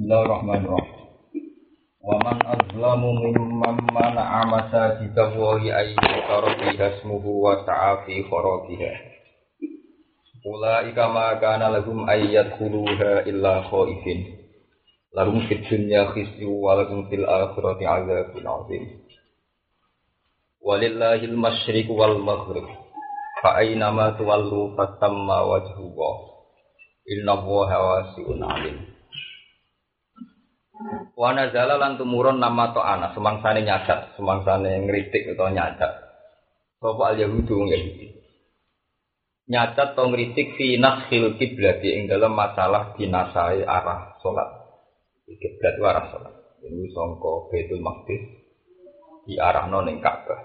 Bismillahirrahmanirrahim. Wa man azlamu mimman mana'a masajidallahi ay yuzkara fiha ismuhu wa sa'a fi kharabiha. Ulaika ma kana lahum ay yadkhuluha illa khaifin. Lahum fid dunya khizyun wa lahum fil akhirati 'adzabun 'adzim. Walillahil masyriqu wal maghrib. Fa aina ma tuwallu fatamma wajhullah. Innallaha wasi'un 'alim. Wa nazala lan tumurun nama ta'ana semangsane nyadat, semangsane ngritik utawa nyadat. Sapa al-yahudu Yahudi. Nyadat to ngritik fi nashil kiblat ing dalam masalah dinasai arah salat. Kiblat arah salat. Ini sangka Baitul Maqdis diarahno ning Ka'bah.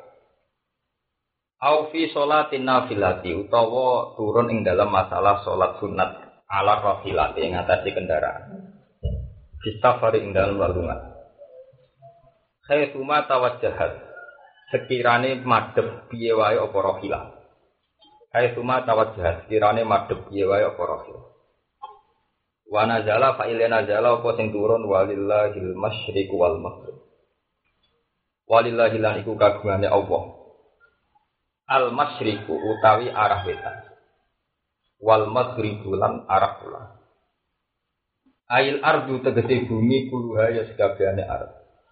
Au fi sholatin nafilati utawa turun ing dalam masalah salat sunat ala rafilati ing atase kendaraan. Fistafari ing dalam walungan. Khaituma tawajjahat. Sekirane madhep piye wae apa rahilah. Khaituma tawajjahat. Sekirane madhep piye wae apa rahilah. Wa nazala fa ilana nazala apa sing turun walillahil masyriq wal maghrib. Walillahi lan iku kagungane Allah. Al masyriqu utawi arah wetan. Wal maghribu lan arah kulon. Ail ardu tegese bumi kuluha ya sekabehane arep.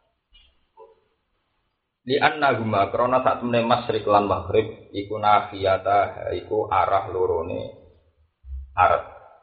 Li anna huma krana sak temene masyriq lan maghrib iku nafiyata iku arah lorone arep.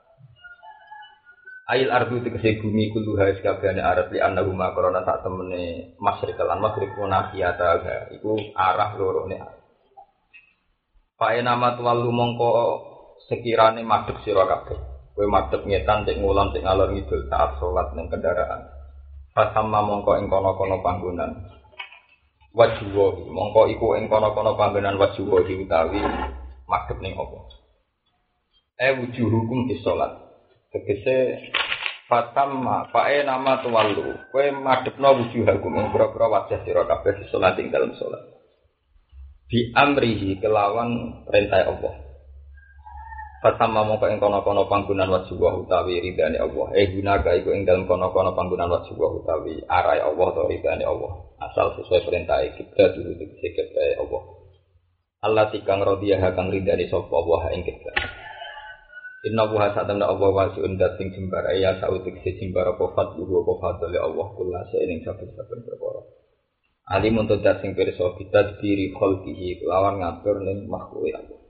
Ail ardu tegese bumi kuluha ya sekabehane arep li anna huma krana sak temene masyriq lan maghrib iku nafiyata iku arah lorone arep. Fa ena matwalu mongko sekirane madhep sira kabeh. Kowe madhep ngetan cek ngulon cek ngalor ngidul saat salat ning kendaraan. Fasamma mongko ing kono-kono panggonan. Wajuwa mongko iku ing kono-kono panggonan wajuwa utawi madhep ning apa. Wujuhukum di salat. Tegese fasamma fae nama tuwallu. Kowe madhepno wujuhakum ing pira-pira wajah sira kabeh di salat ing dalem salat. Bi amrihi kelawan perintah Allah. Fatamma mongko ing kono-kono panggonan wajibah utawi ridane Allah. Gunaga iku ing dalem kono-kono panggonan wajibah utawi arahe Allah utawa ridane Allah. Asal sesuai perintah kiblat dulu dikiblat Allah. Allah tikang radiyah kang ridane sapa Allah ing kiblat. Inna wa sa'atana Allah wasi'un dating jembar ya sautik jembar apa fadlu apa fadle Allah kula ing saben-saben perkara. Alim untuk dating pirsa kita diri khalqihi lawan ngatur ning makhluk Allah.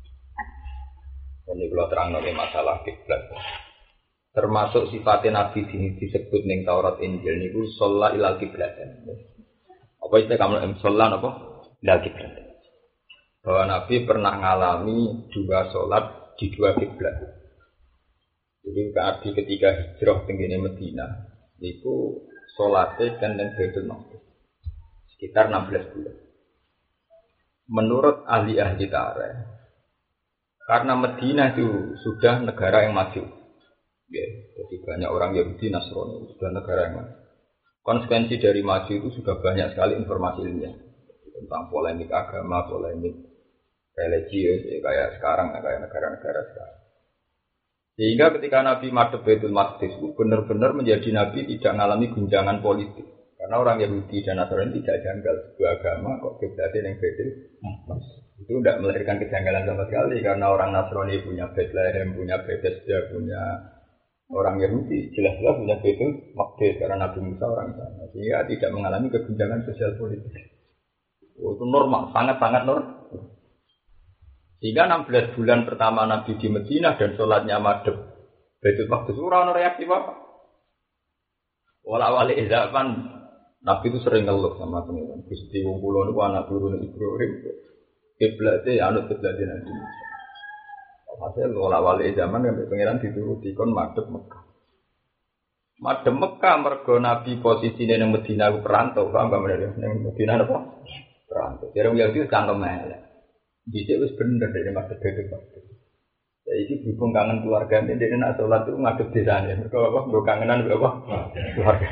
Ini kalau terang oleh masalah kiblat. Termasuk sifatnya Nabi disebut ning Taurat Injil niku sholla ilal kiblatan. Apa istilah kamu sholla apa? Ilal kiblatan. Bahwa Nabi pernah ngalami dua sholat di dua kiblat. Jadi Nabi ketika hijrah tenggene Madinah niku sholatnya kan ning Baitul Maqdis sekitar 16 bulan. Menurut ahli-ahli tarikh karena Madinah itu sudah negara yang maju, ya, jadi banyak orang Yahudi Nasrani sudah negara yang maju. Konsekuensi dari maju itu sudah banyak sekali informasi ilmiah tentang polemik agama, polemik religius, ya, kayak sekarang, kayak negara-negara sekarang. Sehingga ketika Nabi madhep Baitul Maqdis itu benar-benar menjadi Nabi tidak mengalami guncangan politik. Karena orang Yahudi dan Nasrani tidak janggal sebuah agama kok kiblatnya yang Baitul Maqdis. Itu tidak melahirkan kejanggalan sama sekali karena orang Nasrani punya Bethlehem, punya Bethesda, punya orang Yahudi jelas-jelas punya Baitul Maqdis karena Nabi Musa orang sana sehingga tidak mengalami keguncangan sosial politik. Itu normal, sangat-sangat normal. Sehingga 16 bulan pertama Nabi di Madinah dan sholatnya madhep Baitul Maqdis ora ono reaksi apa. Wala-wali zaman Nabi itu sering ngeluh sama pengiran. Gusti wong kula niku anak turune Ibrahim. Kiblate anut kiblate Nabi Musa. Hasil wala-wali zaman yang pengiran dituruti kon madhep Mekah. Madhep Mekah mergo Nabi posisine ning Madinah ku perantau, paham gak meneh ning Madinah apa? Perantau. Jarang Yahudi cangkem elek. Dhisik wis bener dene madhep Baitul Maqdis. Saiki berhubung kangen keluargane dene nak salat itu ngadep desane. Mergo apa? Nggo kangenan mbek apa? Keluarga.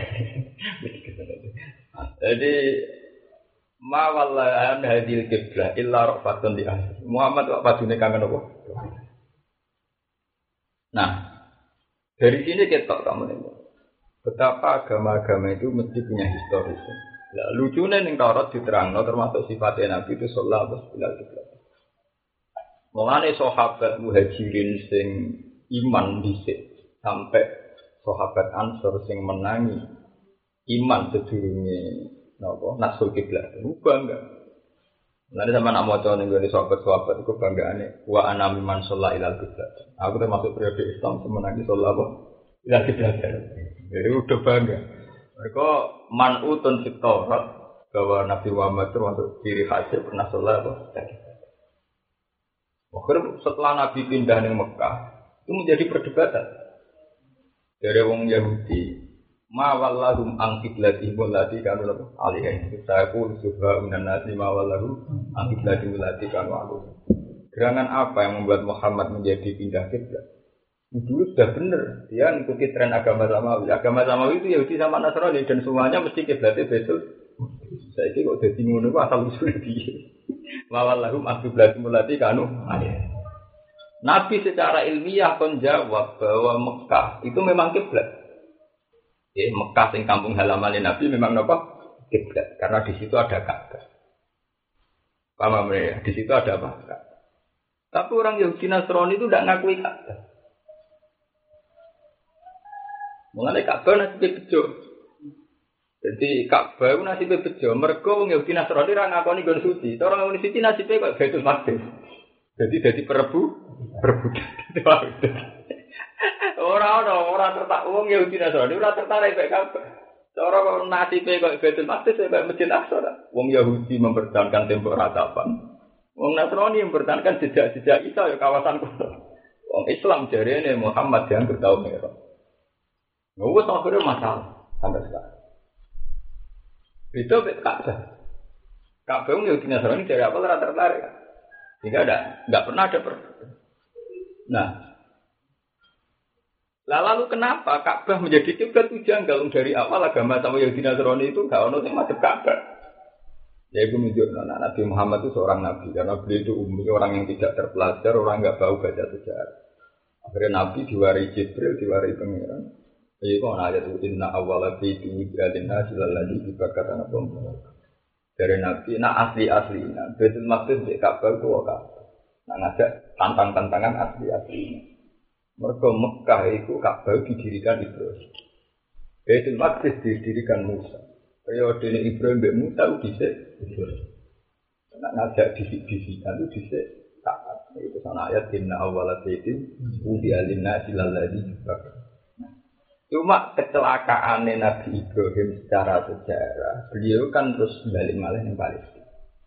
Jadi ma wallahi an hadil qiblah illa rafatun di ahli. Muhammad kok padune kangen apa? Nah, dari sini ketok kamu ini. Betapa agama-agama itu mesti punya historis. Nah, lucunya ning Taurat diterangno termasuk sifatnya Nabi itu sallallahu alaihi wasallam. Mulane sahabat muhajirin sing iman dhisik sampai sahabat Ansor sing menangi iman sedurunge napa nasul kiblat. Bangga. Nanti sama nak maca ning gone sahabat-sahabat iku banggaane wa ana mimman shalla ilal kiblat. Aku termasuk periode Islam semenangi sallallahu ilal kiblat. Jadi udah bangga. Mereka man'utun fit Taurat bahwa Nabi Muhammad termasuk ciri khasnya pernah sholat apa? Akhirnya setelah Nabi pindah ke Mekah itu menjadi perdebatan dari orang Yahudi. Ma wallahum an qiblatihim allati kanu alaiha. Saya pun subha minan nasi ma wallahum an qiblatihim allati kanu alaiha. Gerangan apa yang membuat Muhammad menjadi pindah kiblat? Dulu sudah benar, dia mengikuti tren agama Samawi. Agama Samawi itu Yahudi sama Nasrani dan semuanya mesti kiblatnya betul. Saya ini kok jadi ngono asal usul dia. Wallahum aqiblatul mulati kanu. Nabi secara ilmiah kon jawab bahwa Mekah itu memang kiblat. Mekah sing kampung halaman Nabi memang apa? Kiblat karena di situ ada Ka'bah. Paham ya? Di situ ada apa? Tapi orang Yahudi Nasrani itu tidak ngakui Ka'bah. Mengenai Ka'bah nasibnya bejo. Jadi Ka'bah itu nasibnya bejo. Mereka orang Yahudi Nasrani orang ngakoni gon suci. Orang ngakoni suci nasibnya kok Baitul Maqdis. Jadi perebutan. Orang tertarik orang Yahudi Nasrani orang tertarik baik Ka'bah. Orang nasibnya kok Baitul Maqdis baik Masjid Aqsa. Orang Yahudi mempertahankan tembok ratapan. Orang Nasrani mempertahankan jejak-jejak Isa ya kawasan kuno. Orang Islam jarinya Muhammad yang bertahun merah. Nggak akhirnya masalah sampai sekarang. Itu Ka'bah. Ka'bah yang Yahudi Nasrani dari apa tertarik. Sehingga nggak pernah ada perbedaan. Nah, lalu kenapa Ka'bah menjadi kiblat itu janggal dari awal agama sama Yahudi Nasrani itu nggak ono yang madhep Ka'bah. Ya itu menunjukkan Nabi Muhammad itu seorang nabi karena beliau itu umum orang yang tidak terpelajar, orang nggak tahu baca sejarah. Akhirnya Nabi diwari Jibril, diwari Pangeran. Jadi kau ayat itu inna awwala fi wujudina silalladzi dibakatan apa? Dari Nabi, asli Baitul Maqdis di Ka'bah itu Ka'bah. Ngajak tantang-tantangan asli. Mereka Mekah itu Ka'bah didirikan Ibrahim. Baitul Maqdis didirikan Musa. Periode Ibrahim dan Musa itu dhisik Ibrahim. Ngajak disikan itu dhisik Ka'bah. Itu sana ayat inna awwala baitin wudi'a lin-nasi silalladzi dibakatan. Cuma kecelakaan Nabi Ibrahim secara sejarah, beliau kan terus balik malah yang Palestina.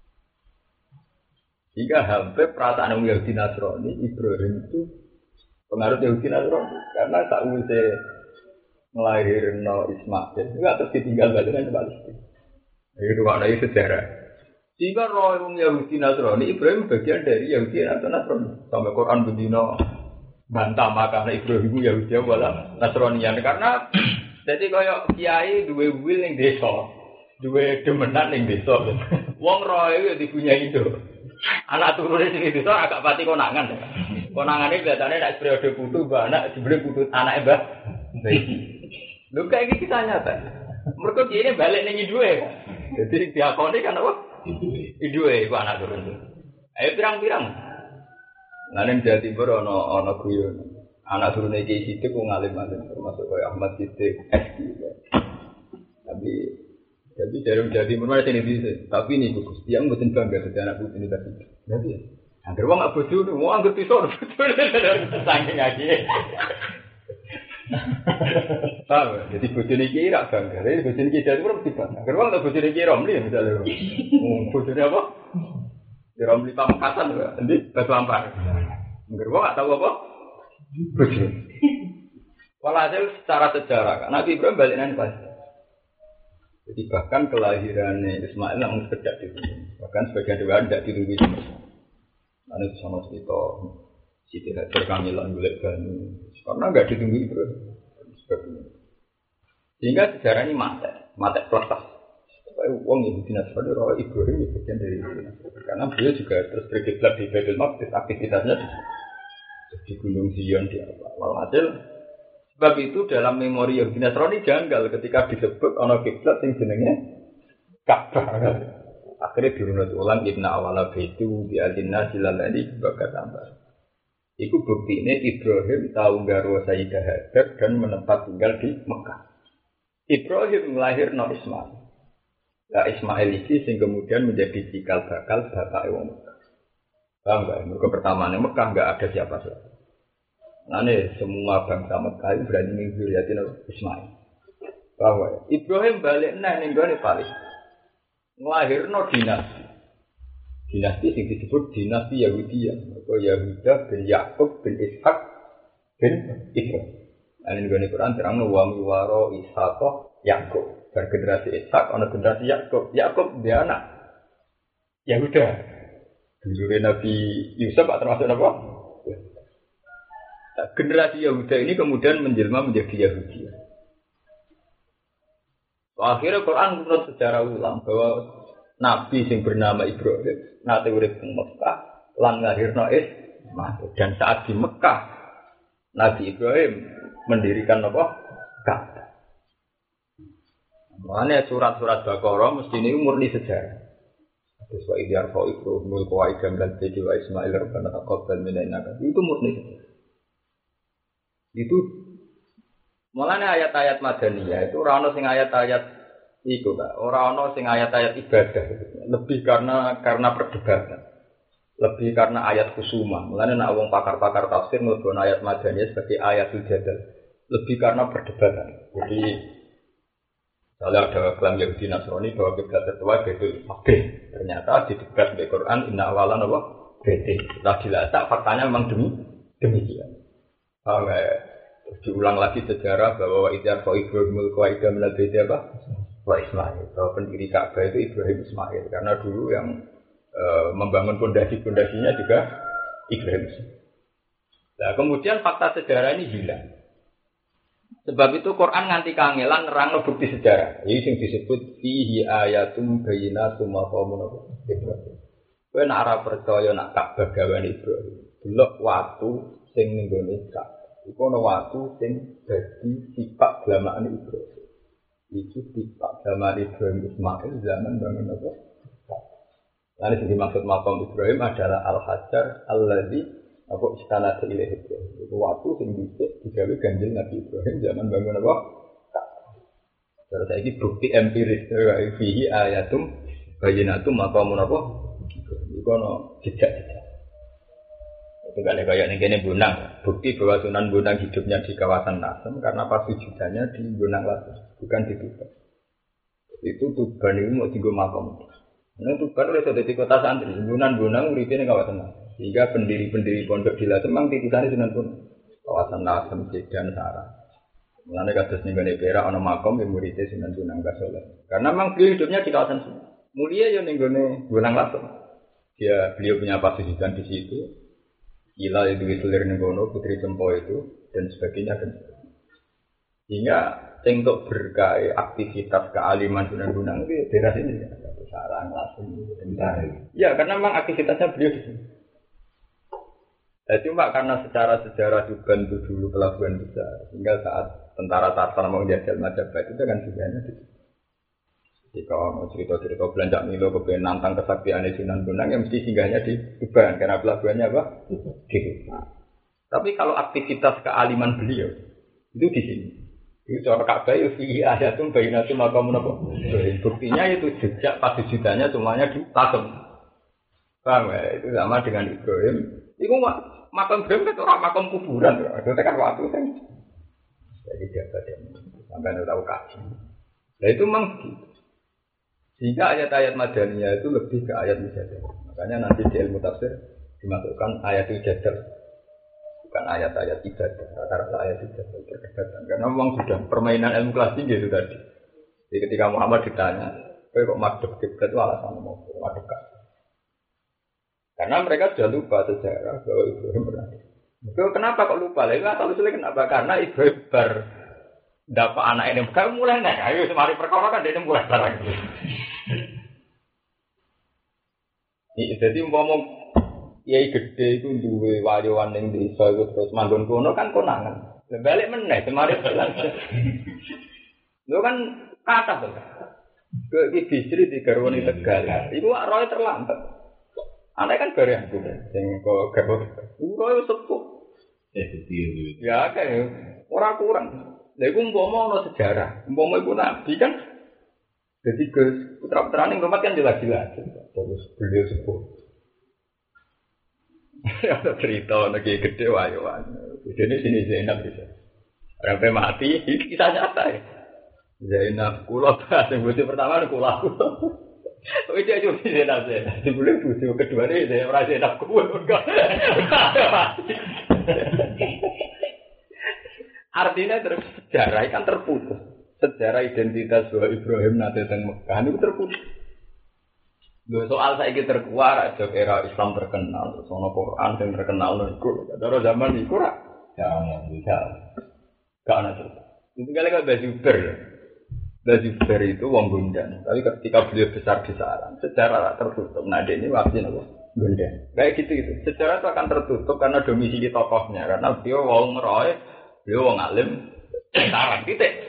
Jika hampir perasaan Yahudi Nasrani, Ibrahim itu pengaruh Yahudi Nasrani karena tak usah melahirkan Ismail, juga terus ditinggal balik ke Palestina. Itu makna sejarah. Jika orang Yahudi Nasrani, Ibrahim bagian dari Yahudi Nasrani. Sampai Quran berdino bantah makanya Ibrahim Yahudi wala Nasranian karena jadi kaya kiai duwe wil ning desa, duwe demenan ning desa. Wong roe yo dipunyai itu. Anak turune sing desa agak pati konangan. Konangane biasane nek periode putu mbah anak dibeli putu anake mbah. Lho kayak iki kisah nyata. Mergo kiye balik ning duwe. Jadi diakoni kan apa? Duwe iku anak turun. Ayo pirang-pirang. Nanti Jawa Timur ono guyon. Anak turune Kiai Sidik ku ngalim-alim termasuk kaya Ahmad Sidik SD. Tapi jadi dari Jawa Timur mana sini bisa. Tapi ini Gus, dia mboten bangga dadi anak putu universitas. Jadi ya. Angger wong gak bojo, wong angger pisau saking aja. Tahu, jadi bojone Kiai ra bangga. Jadi bojone Kiai Jawa Timur mesti bangga. Angger wong tak bojone Kiai Romli misalnya. Bojone apa? Di Romli Pamekasan lho, endi Batu Ampar. Angger wong gak tahu apa? Bojo. Walhasil secara sejarah, Nabi Ibrahim balik nang Palestina. Jadi bahkan kelahirannya Ismail namun sekedar di sini. Bahkan sebagian riwayat tidak dilungguhi. Karena itu sama cerita Siti Hajar Kamilan golek banyu. Karena enggak ditunggu Ibrahim. Sehingga sejarah ini mate peletas. Supaya uang Yahudi Nasrani roh Ibrahim itu bagian dari Yahudi Nasrani. Karena beliau juga terus berkiblat di Baitul Maqdis, aktivitasnya di Gunung Zion di apa. Walhasil Sebab itu dalam memori Yahudi Nasrani janggal ketika disebut ana kiblat sing jenenge Ka'bah. Akhirnya dirunut ulang inna awala baitu bi adinna silalani bakat tambah. Iku buktine Ibrahim tahu garwa Sayyidah Hajar dan menetap tinggal di Mekah. Ibrahim melahirno Ismail. Nah Ismail ini sing kemudian menjadi cikal bakal bapak wong Mekah. Paham enggak? Mereka pertamanya Mekah enggak ada siapa-siapa. Nah semua bangsa Mekah itu berani mengzuriatin Ismail. Bahwa Ibrahim balik ning gone paling nglahirno dinasti. Dinasti yang disebut dinasti Yahudiyah. Mereka Yahuda bin Yakub bin Ishak bin Ibrahim. Ini di Quran terang wa miwaro Ishak Yakub. Dan generasi Ishak, ada generasi Yakub. Yakub dia anak Yahuda. Dulu Nabi Yusuf termasuk apa? Nah, generasi Yahuda ini kemudian menjelma menjadi Yahudi. Akhirnya Quran menurut sejarah ulang bahwa Nabi yang bernama Ibrahim nate urip ing Mekah lan lahirno Ismail. Dan saat di Mekah Nabi Ibrahim mendirikan apa? Ka'bah. Makanya surat-surat Baqarah mesti ini murni sejarah. Terus wa idyar fa Ibrahimul qawaidam dan wa Ismail rabbana taqabbal minna itu murni sejarah. Itu mulanya ayat-ayat Madaniyah itu ora ono sing ayat-ayat iku Kak, ora ono sing ayat-ayat ibadah. Lebih karena perdebatan. Lebih karena ayat kusuma. Mulanya nek wong pakar-pakar tafsir mlebon ayat Madaniyah sebagai ayatul jadal. Lebih karena perdebatan. Jadi kalau ada klaim Yahudi Nasrani bahwa kiblat tertua Baitul Maqdis, ternyata di debat di Quran inna awalan apa? Baitul. Setelah dilacak faktanya memang demikian. Diulang lagi sejarah bahwa Idyar fa Ibrahimul qawaida min al-baiti apa? Wa Ismail. Bahwa pendiri Ka'bah itu Ibrahim Ismail karena dulu yang membangun pondasi-pondasinya juga Ibrahim. Nah, kemudian fakta sejarah ini hilang. Sebab itu Quran nganti kangelan nerangno bukti sejarah. Iki sing disebut fihi ayatum bayyinatum maqamun Ibrahim. Kowe nek ora percaya nak Ka'bah gawane Ibrahim, delok watu sing ning gone Ka'bah. Iku ana watu sing dadi sifat glamaan Ibrahim. Itu sifat glamaan Ibrahim Ismail zaman bangun apa? Lalu yang dimaksud maqam Ibrahim adalah al-hajar alladzi apa istana ilahi Ibrahim. Itu waktu yang dicek digawe ganjil Nabi Ibrahim zaman bangun apa? Terus saiki bukti empiris fihi ayatum bayyinatum maqamun apa? Iku ana jejak-jejak. Itu gak ada kayak ini Bonang. Bukti bahwa Sunan Bonang hidupnya di kawasan Lasem karena pas wujudannya di Bonang Lasem, bukan di Tuban. Itu Tuban itu mau tinggal makam. Nah Tuban oleh sudah di kota santri. Sunan Bonang uripe di kawasan Lasem. Sehingga pendiri-pendiri pondok di Lasem memang titisannya Sunan Bonang. Kawasan Lasem, Sedan, Sarang. Mengenai kasus nenggone Perak, ana makam yang muridnya Sunan Bonang Kasoleh. Karena memang beliau hidupnya di kawasan sini. Mulia ya nenggone Bonang Lasem. Beliau punya pasisikan di situ. Gila itu Hitler Negono, Putri Cempo itu dan sebagainya dan sehingga untuk berkait aktivitas kealiman Sunan Bonang itu daerah sini Sarang langsung ya karena memang aktivitasnya beliau di sini. Cuma karena secara sejarah Tuban itu dulu pelabuhan besar sehingga saat tentara Tatar mau menjajah Majapahit itu kan sebenarnya di sini. Jika mau cerita-cerita belanja Milo kepengen nantang kesaktian Sunan Bonang yang mesti singgahnya di Tuban karena pelabuhannya apa? Di Tuban. Tapi kalau aktivitas kealiman beliau itu di sini. Itu cara Ka'bah itu fihi ayatum bayyinatum maqamun apa? Buktinya itu jejak pasujudanya semuanya di Lasem. Paham ya? Itu sama dengan Ibrahim. Itu makam Ibrahim itu orang makam kuburan. Itu kan waktu kan. Jadi dia sampai tahu kaji. Nah itu memang begitu. Sehingga ayat-ayat Madaniyah itu lebih ke ayat mujadah. Makanya nanti di ilmu tafsir dimasukkan ayat mujadah, bukan ayat-ayat ibadah. Rata-rata ayat mujadah perdebatan. Karena memang sudah permainan ilmu kelas tinggi itu tadi. Jadi ketika Muhammad ditanya, kok madhep kiblat itu alasan mau madhep kan? Karena mereka sudah lupa sejarah bahwa Ibrahim pernah. Kenapa kok lupa? Lalu asal usulnya kenapa? Karena Ibrahim dapat anak ini, kamu mulai nek, ayo semari perkara kan dia mulai barang. Jadi ngomong kiai gede itu duwe wayawan ning desa itu terus manggon kono kan konangan. Balik meneh semari bilang. Lho kan kata to. Ke iki Bisri digarwani Tegal. Iku roe terlambat. Ana kan bareng aku sing kok garwo. Iku roe sepuh. Betul. Ya kan ora kurang. Lha iku umpama ana sejarah. Umpama iku nabi kan jadi ke putra-putrane rumah kan jelas-jelas. Terus beliau sepuh. Ada cerita lagi gede wae-wae. Jadi sini Zainab bisa. Sampai mati, ini kisah nyata ya. Zainab kula bahas yang butuh pertama kula. Oh itu aja Zainab saya. Sebelum butuh kedua ini saya merasa Zainab kula enggak. Artinya terus sejarah kan terputus. Sejarah identitas bahwa Ibrahim nanti teng Mekah itu terputus. Lho soal saiki terkuar aja era Islam terkenal, terus ono Quran sing terkenal niku. Cara zaman iku ra bisa. Gak ana cerita. Itu kali-kali Bazuber. Bazuber itu wong Gondan. Tapi ketika beliau besar-besaran, sejarah tertutup. Nah, ini waktu napa? Gondan. Kayak gitu. Sejarah itu akan tertutup karena domisili tokohnya. Karena beliau wong meroe, beliau wong alim, saran titik.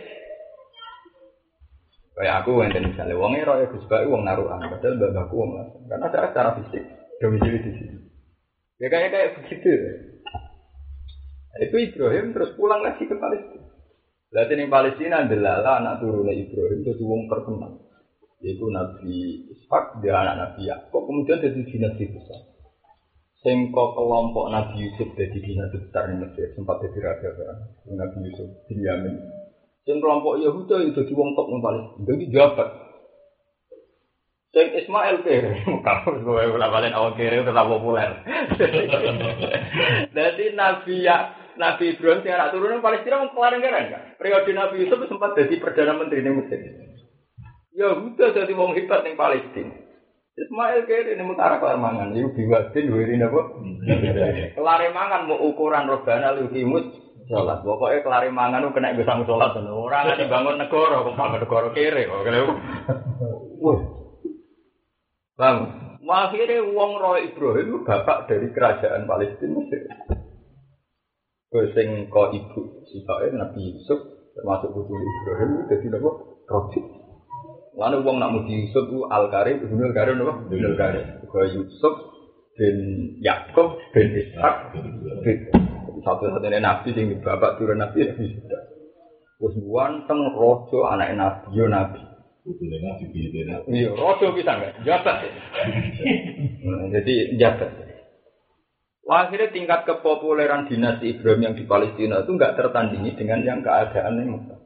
Kayak aku enten misalnya wong roe Gus Bae wong naruhan, padahal mbahku wong langsung. Karena secara fisik domisili di sini. Ya kayak begitu. Itu Ibrahim terus pulang lagi ke Palestina. Berarti di Palestina adalah anak turunnya Ibrahim itu wong terkenal. Yaitu Nabi Ishak, dia anak Nabi Yakub, kemudian jadi dinasti besar. Sengko kelompok Nabi Yusuf jadi dinasti besar di Mesir, sempat jadi raja kan. Nabi Yusuf bin Yamin. Sing kelompok Yahudi itu wong top wong Palestina, jadi jabat. Sing Ismail kere, kalau gue balen awak kere tetap populer. Jadi Nabi Ibrahim yang anak turunnya Palestina mau kelar negara kan? Periode Nabi Yusuf sempat jadi perdana menteri di Mesir. Yahudi jadi wong hebat di Palestina. Ismail kere ini mutara kelar mangan, itu biwadin wirin apa? Kelar mangan mau ukuran robana lukimus. Sholat, pokoknya kelari mangan itu kena besang sholat. Orang yang dibangun negara, bangun negara kere. Bang, akhirnya wong roh Ibrahim bapak dari kerajaan Palestina Mesir. Sing ko ibu sifatnya Nabi Yusuf termasuk putu Ibrahim itu jadi apa? Roji. Lalu wong nak muji Yusuf itu Al-Karim, Ibnul Karim apa? Ibnul Karim. Ko Yusuf bin Yakub bin Ishak bin satu-satunya nabi sing bapak turun nabi nabi sudah. Wes wanteng rojo anak nabi yo nabi. Betul nabi beda. Iya, rojo bisa enggak? Jabat. Jadi jabat. Wah, akhirnya tingkat kepopuleran dinasti Ibrahim yang di Palestina itu enggak tertandingi dengan yang keadaan yang Mekah.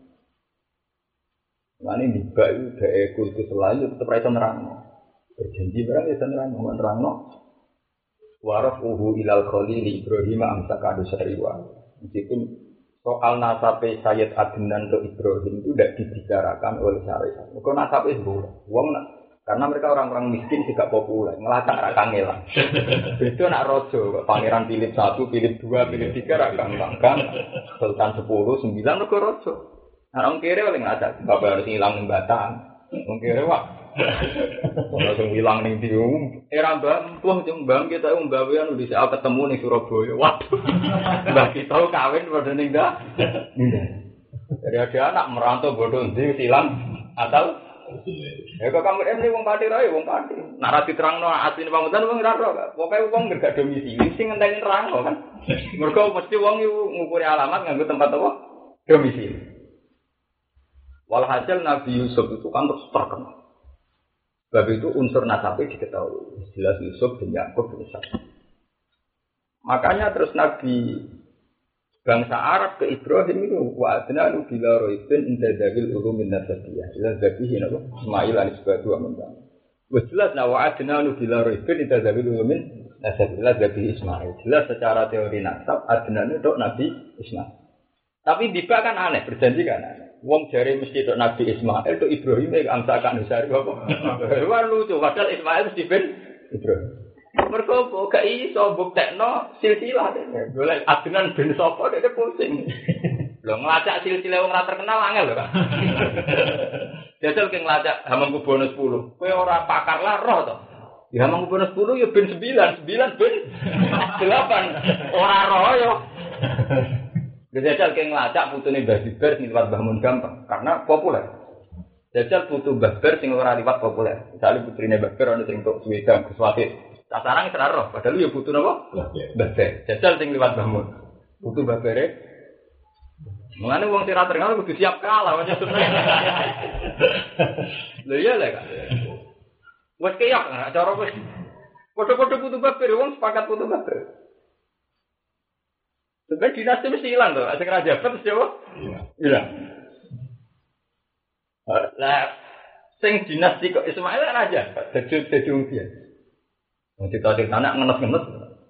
Nah ini juga itu dari kultus selalu tetap rasa nerangno. Berjanji berang rasa nerangno. Warafuhu ilal khalili Ibrahim amsaka adusariwa. Meskipun soal nasabe Sayyid Adnan untuk Ibrahim itu tidak dibicarakan oleh syariat. Maka nasabe itu karena mereka orang-orang miskin juga populer, ngelacak rakang ngelang. Itu nak rojo, Pangeran Philip 1, Philip 2, Philip 3 rakang langkang, Sultan 10, 9 mereka rojo. Nah orang kiri paling ngelacak, bapak harus ngilang batang. Orang kiri wak. Langsung hilang ning di era Mbah, wah jeng Mbah kita gawean wis ketemu ning Surabaya. Waduh. Mbah kita kawin padha ning dah. Dari ada anak merantau bodoh ndi silang atau ya kok kamu ini wong Pati rae wong Pati. Nek ra diterangno asline pamutan wong ora ro. Pokoke wong gak domisili sing ngenteni nerangno kan. Mergo mesti wong iku ngukuri alamat nganggo tempat apa? Domisili. Walhasil Nabi Yusuf itu kan terus terkenal. Sebab itu unsur nasabnya diketahui. Jelas Yusuf bin Yakub bin Ishak. Makanya terus Nabi bangsa Arab ke Ibrahim itu wa'adna lu bila roibin inda dawil ulumin nasabiyah. Jelas zabihin apa? Ismail anisbatu amintang. Jelas wa'adna lu bila roibin inda dawil ulumin nasabiyah. Zabih Ismail. Jelas secara teori nasab adna itu Nabi Ismail. Tapi tiba kan aneh, berjanji kan aneh. Wong jari mesti itu Nabi Ismail itu Ibrahim yang amsakan Nusari apa? Wah lucu, padahal Ismail mesti bin Ibrahim. Mereka gak iso buktekno silsilah deh. Boleh Adnan bin Sopo dia pusing. Lo ngelacak silsilah wong ra terkenal angel lho Kak. Jajal ke ngelacak Hamengkubuwono 10. Kowe ora pakar lah roh to. Ya Hamengkubuwono 10 ya bin 9 bin 8. Ora roh yo. Jajal kayak ngelacak putune Mbah Zubair sing liwat Mbah Mun gampang karena populer. Jajal putu Mbah Zubair sing ora liwat populer. Misalnya putrine Mbah Zubair ana sing tok Sweden, Kuswati. Sasaran ora roh, padahal yo putu napa? Mbah Zubair. Jajal sing liwat Mbah Mun. Putu Mbah Zubair. Mengane wong sing ra terkenal kudu siap kalah macam sebenarnya. Lho iya lho Kak. Wes kaya cara wis padha-padha putu Mbah Zubair wong sepakat putu Mbah Zubair. Sebenarnya dinasti mesti hilang tuh, asing raja terus jawab, hilang. Lah, sing dinasti kok Ismail raja, jadi dia. Nanti tadi anak ngenes.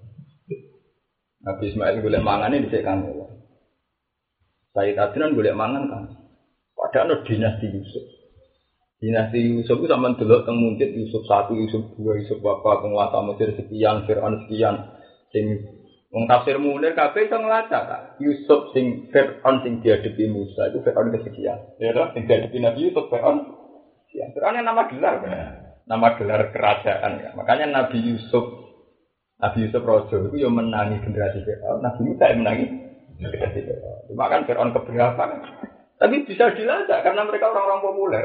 Nabi Ismail golek mangan ini dicek kan. Sayyid Adnan golek mangan kan. Padahal dinasti Yusuf. Dinasti Yusuf itu sama delok teng muncit Yusuf 1, Yusuf 2, Yusuf bapak penguasa Mesir sekian, Fir'aun sekian, sing wong tafsir Munir kabeh iso nglacak ta. Yusuf sing Fir'aun sing dihadapi Musa itu Fir'aun kesekian. Ya toh, sing dihadapi Nabi Yusuf Fir'aun. Ya, Fir'aun nama gelar kan. Nama gelar kerajaan ya. Makanya Nabi Yusuf raja itu yang menangi generasi Fir'aun. Nabi Musa yang menangi generasi Fir'aun. Cuma kan Fir'aun keberapa kan. Tapi bisa dilacak karena mereka orang-orang populer.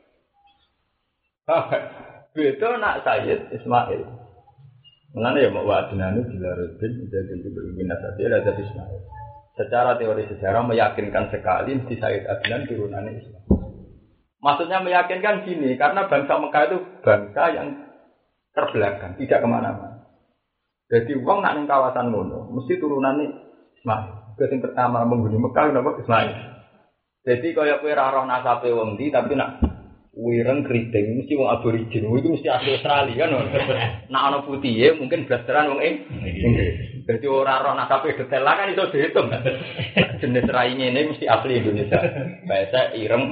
Beda nak Sayyid Ismail. Mengenai ya mau wadnanu dilarudin jadi berbina saja ada Ismail. Secara teori sejarah meyakinkan sekali di Sayyid Adnan turunannya Ismail. Maksudnya meyakinkan gini, karena bangsa Mekah itu bangsa yang terbelakang, tidak kemana-mana. Jadi uang nak ning kawasan ngono, mesti turunannya Ismail. Yang pertama menghuni Mekah kenapa Ismail. Jadi kaya kowe ra roh nasabe wong ndi tapi nak wireng keriting mesti wong aborigin itu mesti asli Australia kan. Nek ana putihe mungkin blasteran wong Inggris. Dadi ora roh nasabe detail lah kan iso dihitung. Jenis rai ngene mesti asli Indonesia. Bahasa ireng.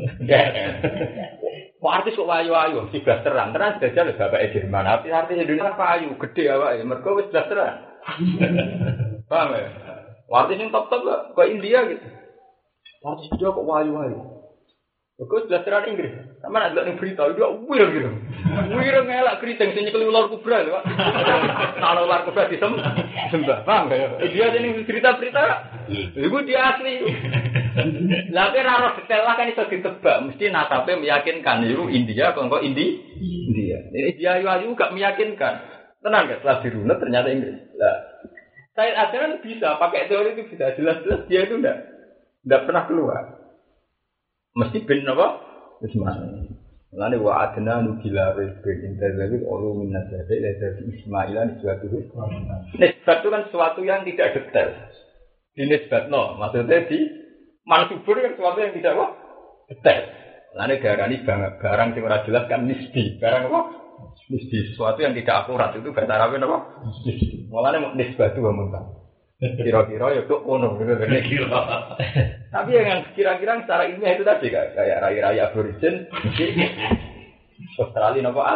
Kok artis kok wayu-wayu mesti blasteran. Tenan jajal bapake Jerman. Artis Indonesia payu gede awake mergo wis blasteran. Paham ya? Artis sing top-top kok India gitu. Artis India kok wayu-wayu. Kau sudah terang Inggris, sama nak lihat berita itu wireng gitu, wireng ngelak keriting sini kalau ular kobra tu, kalau ular kobra disembah, paham tak? Dia sini berita, itu dia asli. Tapi raro detail lah kan itu ditebak, mesti nasabe meyakinkan itu India, kalau India, ini dia juga meyakinkan, tenang kan? Setelah dirunut ternyata Inggris. Saya ajaran bisa pakai teori itu bisa jelas-jelas dia itu tidak pernah keluar. Mesti bin apa? Ismail. Mulane wa adna nubila rizqin intazawil ulu min nasabi la dari Ismailan suatu. Nisbat itu kan sesuatu yang tidak detail. Dinisbatno, maksudnya di mansubur kan sesuatu yang tidak apa? Detail. Mulane darani barang sing ora jelas kan nisbi. Barang apa? Nisbi, sesuatu yang tidak akurat itu bahasa Arabnya apa? Nisbi. Mulane nisbatu wa muntah. Kira-kira ya kok ono gitu kira. Tapi yang kira-kira secara ilmiah itu tadi kayak rai-rai aborigin Australia napa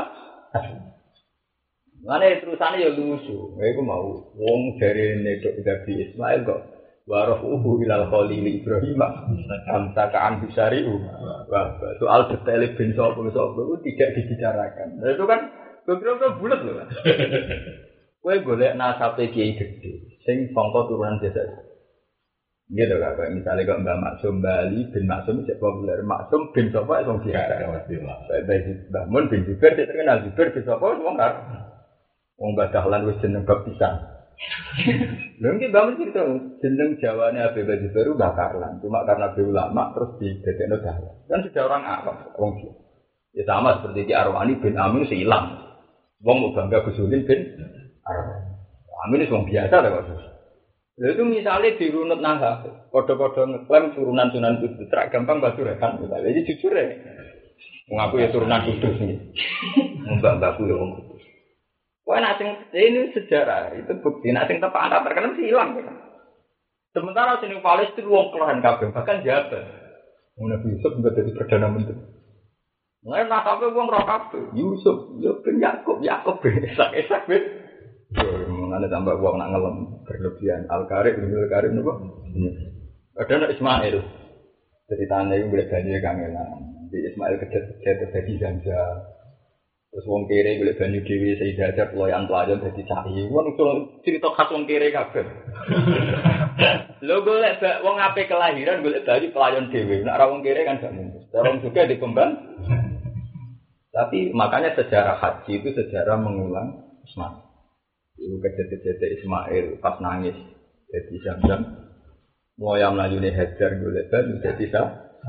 Mane terusane ya lucu. Iku mau wong jarene nek dadi Ismail kok warafuhu ilal khalil Ibrahim amsakaan bisariu. Wah, soal detail ben sapa itu tidak dibicarakan. Nah, itu kan beberapa bulat loh. Kowe golek nasabe kiai gede sing sangka turunan desa. Gitu kan, kayak misalnya kok Mbak Maksum Bali bin Maksum cek populer, Maksum bin sapa wong biara. Mbak Mun bin Zubair cek terkenal Zubair bin sapa wong karo. Wong Badahlan wis jeneng bab pisan. Lha iki Mbak Mun cerita jeneng Jawane Habib Zubair Mbah Karlan, cuma karena be ulama terus didadekno dahlan. Kan sudah orang awam wong iki. Ya sama seperti Ki Arwani bin Amin hilang. Wong mau bangga Gusulin bin Amin itu orang biasa lah kok. Lalu itu misalnya dirunut nangka, kode-kode ngeklaim turunan Sunan Kudus, terak gampang batu rekan misalnya. Jadi jujur ya, mengaku ya turunan Kudus nih, mbak-mbakku ya orang Kudus. Wah nasing ini sejarah itu bukti nasing tepat angkat terkenal mesti hilang. Kan? Sementara sini Palestina wong kelahan kabeh bahkan Jabar. Nabi Yusuf juga jadi perdana menteri. Nggak nasabnya wong roh kabeh. Yusuf, bin Yakub bin esak bin. Mengenai tambah uang nak ngelem berlebihan Al-Karib nopo. Ada nak Ismail. Ceritanya itu boleh banyak kangenan. Di Ismail kecil terjadi ganja. Terus wong kere boleh banyak dewi Sayyidah Hajar pelayan jadi cai. Wong itu cerita khas wong kere kabeh. Lho golek wong ape kelahiran golek bayi pelayan dhewe. Nek ora wong kere kan gak mungkin. Orang juga dikembang. Tapi makanya sejarah haji itu sejarah mengulang Ismail. Itu kejadian Ismail pas nangis jadi Zamzam. Moyang melayune Hajar golek bayi jadi sah.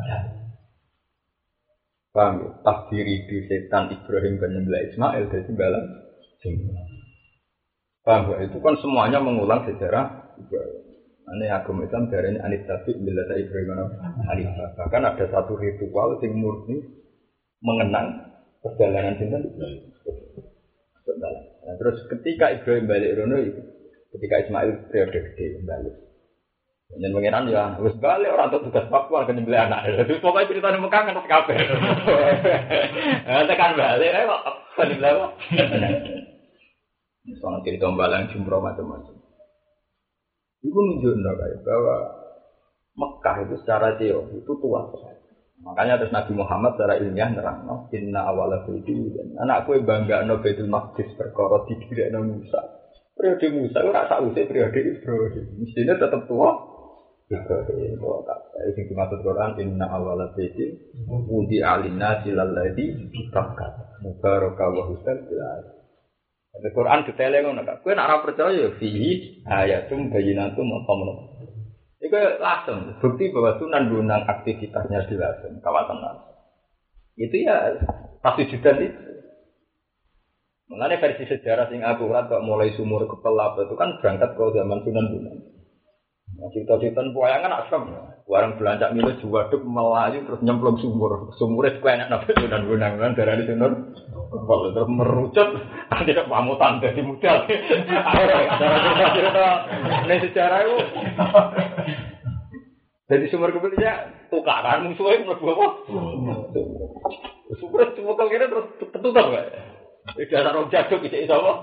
Paham ya? Takdir itu setan Ibrahim kan nyembelih Ismail dari balang. Paham ya? Itu kan semuanya mengulang sejarah Ibrahim. Ini agama Islam darahnya anit tabi bila tak Ibrahim Hanifah. Bahkan ada satu ritual yang murni mengenang perjalanan cinta Ibrahim. Nah, terus ketika Ibrahim balik Rono, ketika Ismail periode gede balik. Dan mengenang ya, harus balik orang tuh tugas papua ke nyembelih anak. Terus pokoknya ceritanya Mekah kan harus kabeh. Tekan balik, kok nyembelih apa? Soalnya cerita balang jumroh macam-macam. Itu menunjukkan kayak bahwa Mekah itu secara teori itu tua sekali. Makanya terus Nabi Muhammad secara ilmiah nerangno inna awala budi anakku bangga no Baitul Maqdis perkara didhirekno Musa. Periode Musa ora sak usih periode Ibrahim. Mestinya tetap tua. Ibrahim itu yang dimaksud Quran inna awala budi budi alina silalladzi bitakkat mubaraka wa husnul bilal. Di Quran detailnya ngono kan. Kowe nek ora percaya fihi ayatum bayyinatum maqamun. Iku langsung bukti bahwa Sunan Bonang aktivitasnya di Lasem kawasan Lasem. Itu ya pasti judan itu. Mengenai versi sejarah sing akurat kok mulai sumur kepelap itu kan berangkat ke zaman Sunan Bonang. Nah, cerita-cerita pewayangan asam. Warang belancak milo juwaduk melayu terus nyemplung sumur. Sumurnya suka enak nabi Sunan Bonang kan darah di Sunan. Kalau terus merucut, tidak pamutan dari muda. Ini sejarah itu. Dari sumur kebelnya tukaran musuhnya mlebu apa? Sumur cuma kalau kira terus tertutup nggak? Dasar orang jaduk itu apa?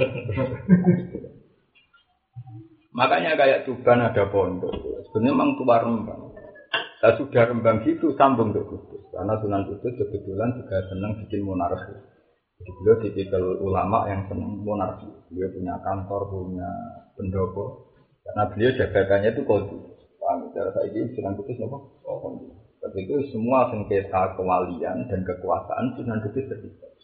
Makanya kayak Tuban ada pondok. Sebenarnya memang tua Rembang. Nah, sudah Rembang gitu sambung ke Kudus. Karena Sunan Kudus kebetulan juga senang bikin monarki. Jadi beliau tipikal ulama yang senang monarki. Beliau punya kantor, punya pendopo. Karena beliau jabatannya itu qadhi. Paham? Cara saya ini Sunan Kudus apa? Qadhi. Tapi itu semua sengketa kewalian dan kekuasaan Sunan Kudus terlibat.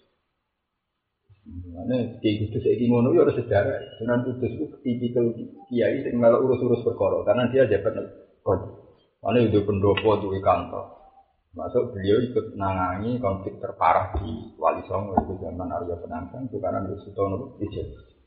Mana Kiai Kudus iki ngono ya harus sejarah. Sunan Kudus itu tipikal kiai sing malah urus-urus perkara karena dia jabat qadhi. Mana itu pendopo duwe kantor. Masuk beliau ikut nangani konflik terparah di Wali Songo itu zaman Arya Penangsang itu karena Sutono Ijen.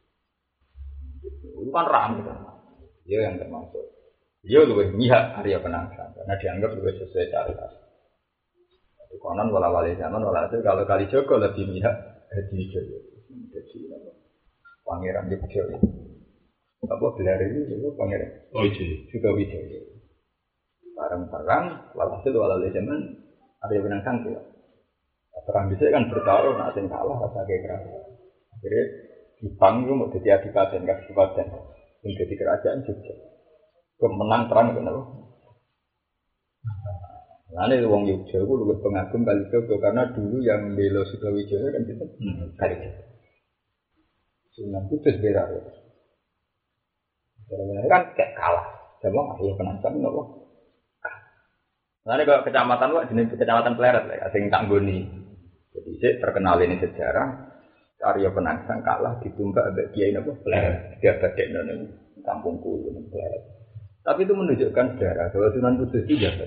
Itu kan ramai kan. Dia yang termasuk. Dia lebih mihak Arya Penangsang karena dianggap lebih sesuai syariat. Di konon wala-wali zaman walhasil kalau Kalijogo lebih mihak Hadi Wijoyo. Jadi Pangeran Wijoyo. Apa gelar ini itu Pangeran? Juga Wijoyo. Barang-barang, walhasil walhasil zaman ada yang menang sangkil. Perang bisa kan bertaruh, nak sing kalah rasa kayak Akhirnya Jepang itu mau jadi adipaten, kasih paten, menjadi kerajaan juga. Kemenang perang itu apa? Nah ini wong Yogyakarta itu lebih pengagum Kalijogo karena dulu yang belo Sukmawijaya kan itu Kalijogo. Sunan Kudus berar ya. Sebenarnya kan kayak kalah, sama akhirnya penantang apa? Nah ini kalau kecamatan wah jenis kecamatan Pleret lah, asing Tanggoni. Jadi saya terkenal ini sejarah Arya Penangsang kalah ditumbak abad Kiai apa Pleret. Dia badek nona kampungku ini Pleret. Tapi itu menunjukkan sejarah bahwa Sunan Kudus itu jahat.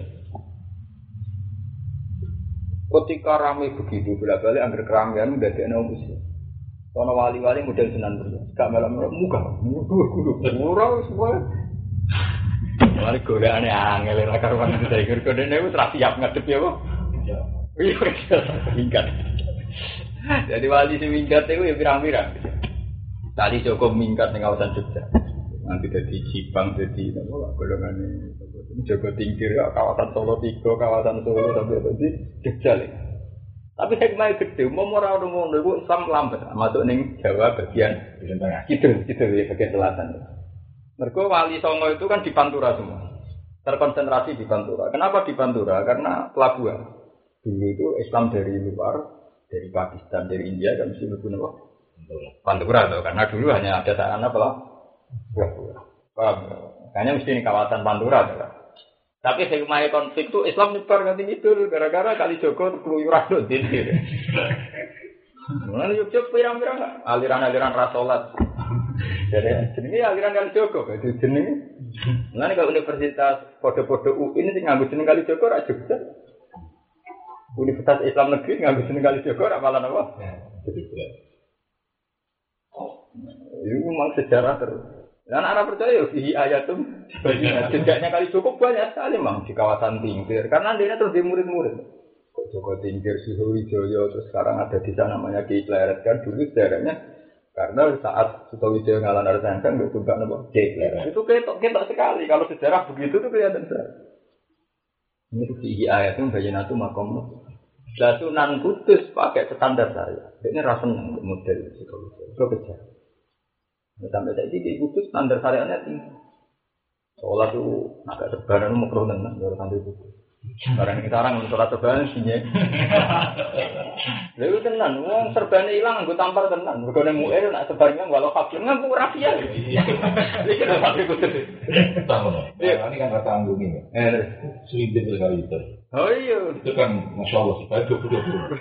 Ketika ramai begitu bolak-balik angker keramaian udah ada muslim. Soalnya wali-wali model Sunan Kudus, gak malam-malam muka, mudur, murah semua. Wali golek ane angel ora karuan saya kira-kira niku ora siap ngadep ya, Pak. Iya, minggat. Jadi wali sing minggat iku ya pirang-pirang. Tadi Joko minggat ning kawasan Jogja. Nanti dadi Jipang dadi napa golongane Joko Tingkir kawasan Solo 3, kawasan Solo sampai dadi Jogja lho. Tapi hikmah gede, mau ora ngono iku Islam lambat masuk ning Jawa bagian kidul ya bagian selatan. Mergo Wali Songo itu kan di Pantura semua. Terkonsentrasi di Pantura. Kenapa di Pantura? Karena pelabuhan. Dulu itu Islam dari luar, dari Pakistan, dari India kan mesti mlebu napa? Pantura tuh. Karena dulu hanya ada sarana pelabuhan. Makanya mesti ini kawasan Pantura. Kan? Tapi hikmah konflik itu Islam nyebar nganti ngidul gara-gara kali Joko keluyuran do dintir. Mulane yuk pirang-pirang aliran-aliran rasolat. Jadi jenenge aliran kali Joko, itu jenenge. Mulane kalau universitas podo-podo UI ini sing nganggo jeneng kali Joko ra Jogja. Universitas Islam Negeri nganggo jeneng kali Joko ra malah apa? Itu memang sejarah terus. Dan Arab percaya fihi ayatum sejarahnya kali cukup banyak sekali memang di kawasan Tingkir karena dia terus di murid-murid. Kok Joko Tingkir, Sutowijoyo terus sekarang ada di sana namanya Ki Pleret kan dulu sejarahnya karena saat Sutowijoyo ngalah Narasangka nggak suka nama Ki Pleret. Itu ketok sekali kalau sejarah begitu tuh kelihatan sekali. Ini tuh fihi ayatum bayinatu makom. Lah Sunan Kudus pakai standar saya. Ini rasa model Sutowijoyo. Itu kejar. Sampai saat ini Kudus standar syariatnya tinggi. Sholat itu agak sebaran makruh tenan kalau sampai Kudus. Barang kita orang sholat sebaran sihnya. Lalu tenan, wong serban hilang, gue tampar tenan. Berkone mu'ir nak sebarannya walau fakir nganggu rahasia. Ini kita sampai Kudus. Tahu ini kan kata anggung ini. Selibet sekali itu. Oh iya. Itu kan masya Allah sebagai 20.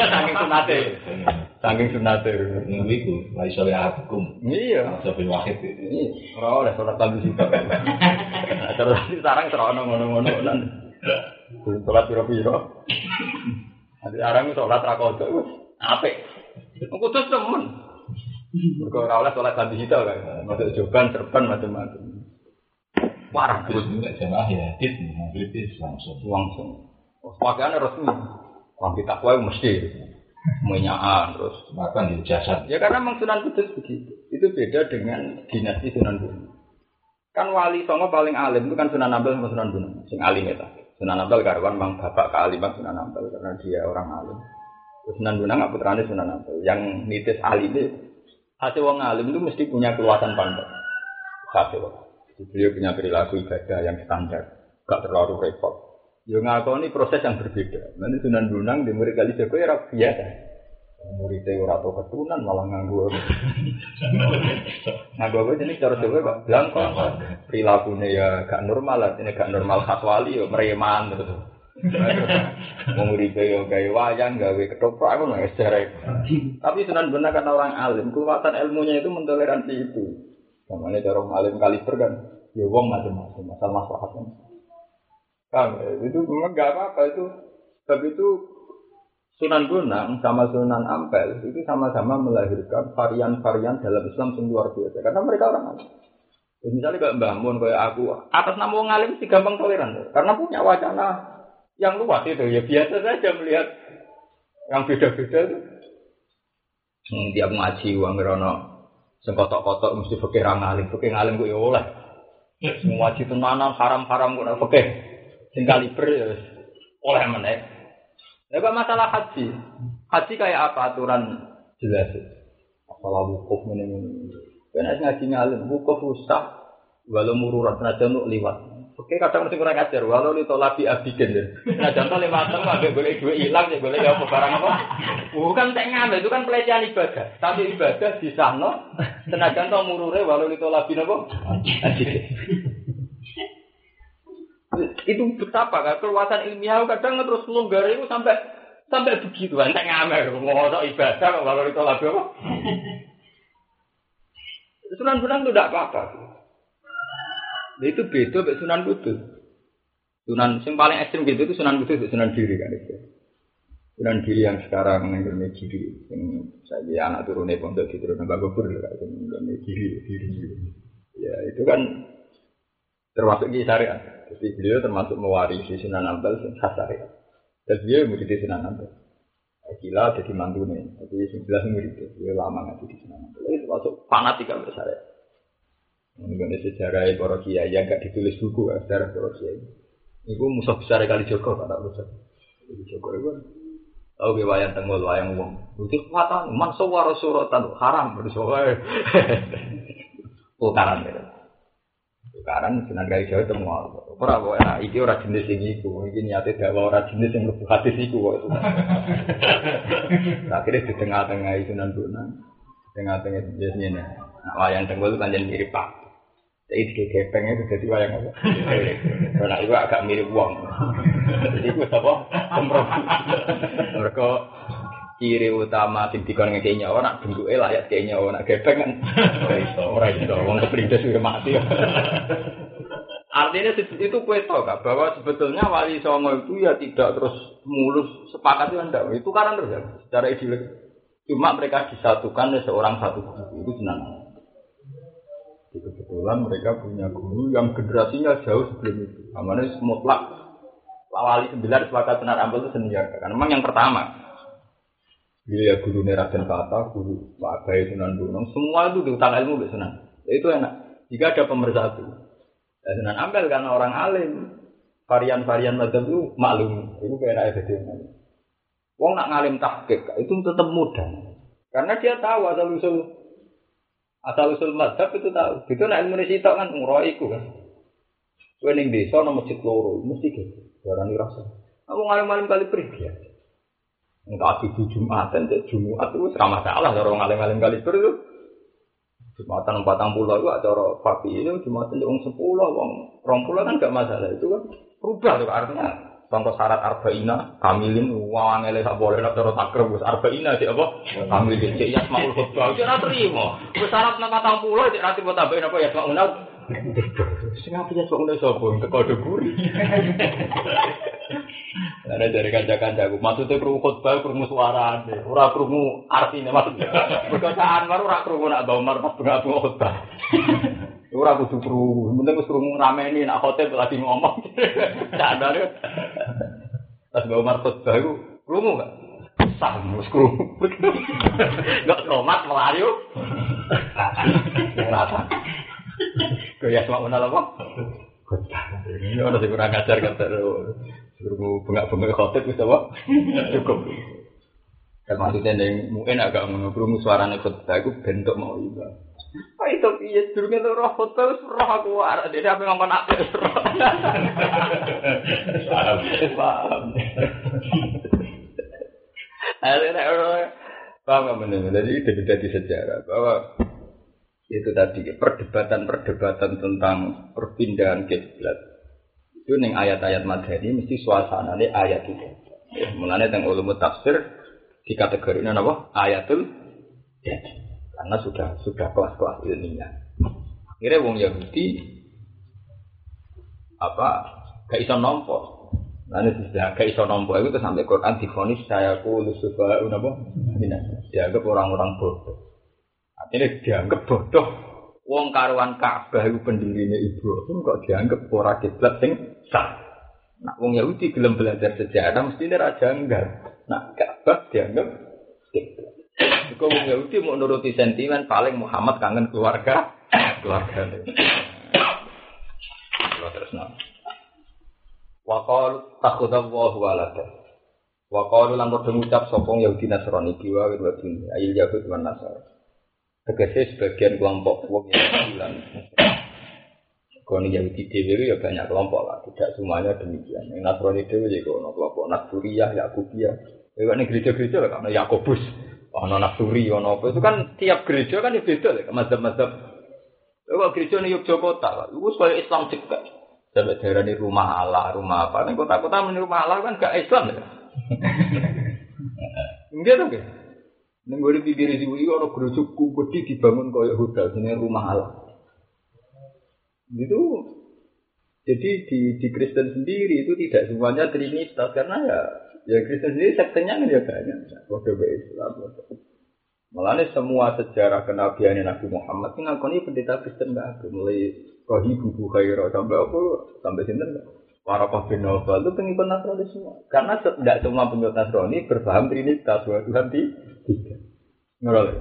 Saking sunate. Itu lagi soleh hukum. Iya. Sampai wahid itu. Ora oleh sholat tabu juga. Terus sekarang terono ngono-ngono kan. Sholat piro-piro. Nanti sekarang sholat ra kodok wis apik. Kudus temen. Mergo ora oleh sholat tabu kita kan. Masuk joban, serban macam-macam. Parah Terus enggak jamaah ya, kritis langsung. Pakaiannya resmi. Wangi takwa mesti menyaan terus makan di jasad. Ya karena memang Sunan Kudus begitu. Itu beda dengan dinasti Sunan Bonang. Kan wali songo paling alim itu kan Sunan Ampel sama Sunan Bonang. Sing alim itu. Sunan Ampel karwan memang bapak kealiman Sunan Ampel karena dia orang alim. Terus Sunan Bonang nggak putrane Sunan Ampel. Yang nitis alim itu hasil wong alim itu mesti punya keluasan pandang. Hasil. Beliau punya perilaku ibadah yang standar, gak terlalu repot. Yo ngakoni proses yang berbeda. Nanti Sunan Bonang di murid kali Joko ya biasa. Muridnya ora tau keturunan malah nganggo. Nganggo apa jenis cara Jawa gak blangko. Perilakunya ya gak normal, ini gak normal khas wali yo mereman terus. Muridnya yo gawe wayang, gawe ketoprak ngono wis jare. Tapi Sunan Bonang kan orang alim, kekuatan ilmunya itu mentoleransi itu. Namanya cara alim kaliber kan, ya wong macam-macam, masalah kan. Itu memang nggak apa-apa itu. Tapi itu Sunan Bonang sama Sunan Ampel itu sama-sama melahirkan varian-varian dalam Islam yang luar biasa. Karena mereka orang alim. Misalnya kayak Mbah Mun, kayak aku, atas nama wong alim sih gampang toleran. Karena punya wacana yang luas itu. Ya biasa saja melihat yang beda-beda itu. Tiap ngaji uang merono. Sengkotok-kotok mesti fikih ra ngalim, fikih ngalim kok ya oleh. Semua wajib tenanan haram-haram kok ora fikih. Sing kaliber ya wis oleh meneh. Lah kok masalah haji. Haji kayak apa aturan jelas. Masalah wukuf ngene-ngene. Ben ngaji ngalim, wukuf usah walau mururat senajan untuk liwat. Oke, kadang mesti kurang ajar walau li tolabi abigen ya. Senajan to liwat ambek golek duit ilang ya golek apa barang apa. Bukan tek ngambil itu kan pelecehan ibadah. Tapi ibadah disahno senajan to murure walau li tolabi napa? Abigen. Itu betapa kan keluasan ilmiah kadang terus longgar itu sampai begitu kan tek ngambil ngono ibadah walau li tolabi apa? Sunan Bonang itu tidak apa-apa. Nah, itu beda dengan Sunan Kudus. Sunan yang paling ekstrim gitu itu Sunan Kudus, Sunan Giri kan itu. Sunan Giri yang sekarang mengenai Giri, yang saya anak turunnya pondok di turun Mbak Gobur lah, mengenai Giri. Ya itu kan termasuk di syariat. Jadi beliau termasuk mewarisi Sunan Ampel yang khas syariat. Dan beliau murid Sunan Ampel. Gila jadi mantunya, jadi 19 murid itu, dia lama ngaji di Sunan Ampel. Itu masuk fanatik kan bersyariat. Mengenai sejarah para kiai yang gak ditulis buku, sejarah para kiai. Itu musuh besar kali Joko, tak musuh. Jadi Joko itu kan, tahu ke wayang tenggol, wayang uang. Itu kekuatan, man sawara suratan, haram bersuara. Tukaran gitu. Tukaran Sunan Kali Jawa itu mau. Orang iki ora jenis ini iku, iki niate dakwah ora jenis yang mlebu hadis iku kok. Akhirnya di tengah-tengah Sunan Bonang, tengah-tengah jenisnya. Nah, wayang tenggol pancen mirip Pak. Jadi gepeng itu jadi wayang apa? Karena itu agak mirip uang. Jadi itu apa? Kompromi. Mereka ciri utama sing dikon ngekek nyawa nak bentuke layak kek nyawa nak gepeng kan ora iso wong keprindes sudah mati. Artinya itu kowe tahu Kak bahwa sebetulnya Wali Songo itu ya tidak terus mulus sepakat itu enggak. Itu karena terus ya secara ideologis. Cuma mereka disatukan oleh seorang satu guru itu senang. Kebetulan mereka punya guru yang generasinya jauh sebelum itu. Namanya mutlak. Wali 9 sepakat Sunan Ampel itu senior. Karena memang yang pertama. Dia ya guru Raden Kata, guru Pak Abai Sunan Gunung. Semua itu diutang ilmu ke Sunan. Itu enak. Jika ada pemersatu. Dan Sunan Ampel karena orang alim, varian-varian mazhab itu maklum, itu kayak ada jadi. Wong nak ngalim tahqiq itu tetap mudah, karena dia tahu asal usul mazhab itu tahu. Itu nak ilmu sitok kan umroh iku kan. Kowe ning desa nang masjid loro mesti gitu. Darani rasa. Aku ngalim-ngalim kali pergi. Enggak ada Jumatan, Jumat itu sama salah orang ngalim-ngalim kali itu. Jumatan 40 itu acara pagi ini Jumatan wong 10 wong 20 kan enggak masalah itu kan rubah tuh artinya contoh syarat arba'ina kamilin wong ngele sak boleh nek cara takrib wis arba'ina sik apa kamilin sik yasmaul khutbah iki ora trimo wis syarat 40 sik ra trimo tambahin apa yasmaul sing apa yasmaul sapa teko deburi ana dari kanca-kancaku maksudnya krungu khutbah krungu suarane ora krungu artine maksudnya perkataan baru ora krungu nak Umar pas bunga khutbah ora kudu krungu penting wis krungu rameni nak khotib lagi ngomong sadar pas Umar khutbah iku krungu gak sah mus krungu enggak komat melayu rata kaya sama menal apa khutbah ini ora sing kurang ajar kata Guru bengak-bengak khotib wis apa? Cukup. Kan maksudnya ning muen agak ngono krungu suarane khotbah iku bentuk mau iba. Kok itu piye durunge roh khotbah wis roh aku arek dhewe ape ngomong apik wis roh. Paham. Paham benar. Jadi itu dari sejarah bahwa itu tadi perdebatan tentang perpindahan kiblat. Itu ning ayat-ayat madani mesti suasanane ayat itu. Ya, mulane teng ulum tafsir dikategorikan apa? Ayatul jad. Karena sudah kelas-kelas ilmiah. Akhirnya wong Yahudi gak iso nampa. Lan sudah gak iso nampa itu sampai Quran difonis saya lusufa napa? Dianggap orang-orang bodoh. Artinya dianggap bodoh. Wong karuan Ka'bah iku pendirine Ibrahim kok dianggap ora kiblat sing sah. Nak wong Yahudi gelem belajar sejarah mestine ra janggal. Nak Ka'bah dianggap kiblat. Iku wong Yahudi mau nuruti sentimen paling Muhammad kangen keluargane. Terus nang. Wa qalu takhudallahu walada. Wa qalu lan padha ngucap sapa Yahudi Nasrani kiwa wa dunya ayil Yahud wan Nasrani. Tegese sebagian kelompok wong yang bilang kalau Yahudi dewi ya banyak kelompok lah, tidak semuanya demikian. Yang Nasrani dewi juga ono kelompok Nasturiyah, Yakubiyah. Ya kan gereja-gereja lah, ono Yakobus, ono Nasturi, ono apa itu kan tiap gereja kan beda lah, mazhab-mazhab. Kalau gereja di Yogyakarta, itu sebagai Islam juga. Sampai daerah ini rumah Allah, rumah apa? Nih kota-kota ini rumah Allah kan gak Islam ya. Enggak dong ya. Ning gone pinggir siwu iki ana gereja gede dibangun kaya hotel jenenge rumah Allah. Gitu. Jadi di Kristen sendiri itu tidak semuanya trinitas karena ya Kristen sendiri sektenya kan ya banyak. Kode Islam. Malahnya semua sejarah kenabian Nabi Muhammad ini ngakoni pendeta Kristen enggak ada. Mulai Rohibu Bukhairah sampai sinten para bin Nawfal itu pengikut Nasrani semua. Karena tidak semua pengikut Nasrani berpaham trinitas bahwa Tuhan tiga. Ngerti?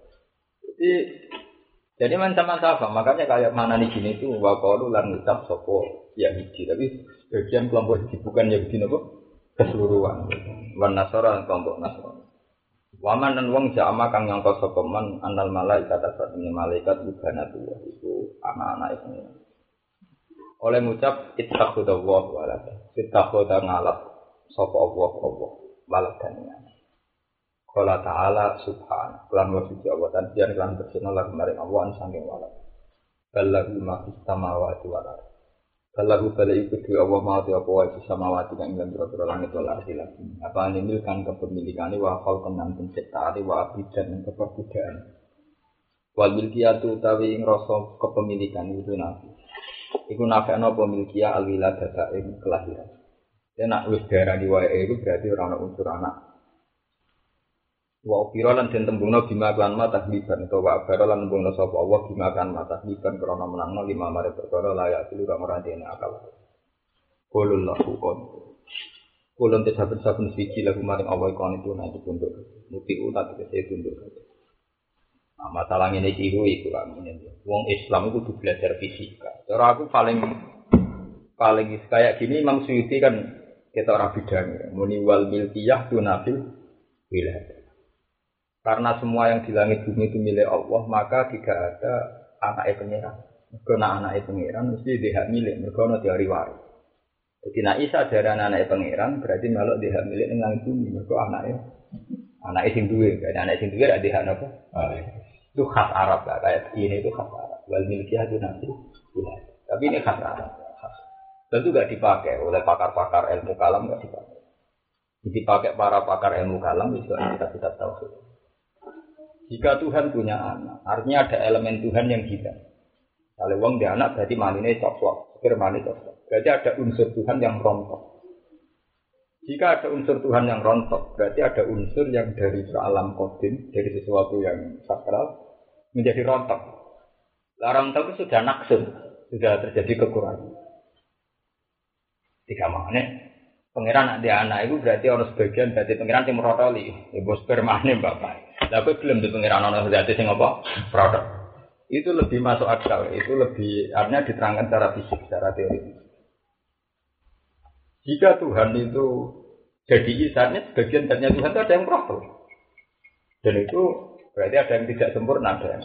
Jadi macam-macam. Makanya kayak mana di sini itu waqalu lan ngucap sapa Yahudi. Tapi bagian kelompok Yahudi bukan Yahudi apa? Keseluruhan. Wan Nasara kelompok Nasrani. Waman dan wong jama kang nyangka sapa man anal malaikat asatune malaikat bukanatu itu anak-anak itu. Oleh ngucap ittakhudallahu walada. Ittakhudha ngalap sapa Allah waladane. Qala ta'ala subhanahu lan wa suci Allah dan pian lan bersina lan maring Allah saking walad. Ballahu ma fis samawati wal ardh. Ballahu balai iku dhewe Allah mau apa wae fis samawati kang ing pira-pira langit wal ardh lagi. Apa nimil kan kepemilikane wa fal tenan penciptaane wa abidan kepebudaan. Wal milkiyatu utawi ing rasa kepemilikan itu nabi. Iku nafekno apa milkiyah al-wiladata ing kelahiran. Yen nak wis diarani wae iku berarti ora ana unsur anak. Wa upira lan den tembungna bima lan mata tahliban utawa abara lan tembungna sapa Allah bima kan mata tahliban krana menangno lima mare perkara layak silu kang ora dene akal. Qulul lahu qul. Kulun saben-saben siji lagu maring Allah kon itu nanti tunduk. Muti utat kese tunduk. Nah, masalah ngene iki iku kan ngene. Wong Islam itu kudu belajar fisika. Cara aku paling kayak gini Imam Suyuti kan kita ora bidang muni wal milkiyah tunafil wilayah. Karena semua yang di langit bumi itu milik Allah, maka tidak ada anaknya pengiran. Karena anaknya pengiran mesti dia hak milik, mereka ada teori waris. Jadi nak Isa dari anaknya pengiran berarti malah dia hak milik dengan langit bumi, mereka anaknya sing duwe, karena anak sing duwe ada hak apa? Itu khas Arab lah, kayak ini itu khas Arab. Wal milkiyah itu nanti, tapi ini khas Arab. Tentu tidak dipakai oleh pakar-pakar ilmu kalam, tidak dipakai. Dipakai para pakar ilmu kalam itu kita tahu. Jika Tuhan punya anak, artinya ada elemen Tuhan yang hilang. Kalau wong dia anak berarti manine cocok, spermane cocok. Berarti ada unsur Tuhan yang rontok. Jika ada unsur Tuhan yang rontok, berarti ada unsur yang dari alam kodim, dari sesuatu yang sakral menjadi rontok. Rontok itu sudah naksun, sudah terjadi kekurangan. Tiga mana? Pangeran ada anak itu berarti orang sebagian berarti pangeran yang merotoli, ibu spermane bapak. Tapi belum di pengiran ono zati sing apa? Produk. Itu lebih masuk akal, itu lebih artinya diterangkan secara fisik, secara teori. Jika Tuhan itu jadi isarnya sebagian zatnya Tuhan itu ada yang produk. Dan itu berarti ada yang tidak sempurna ada.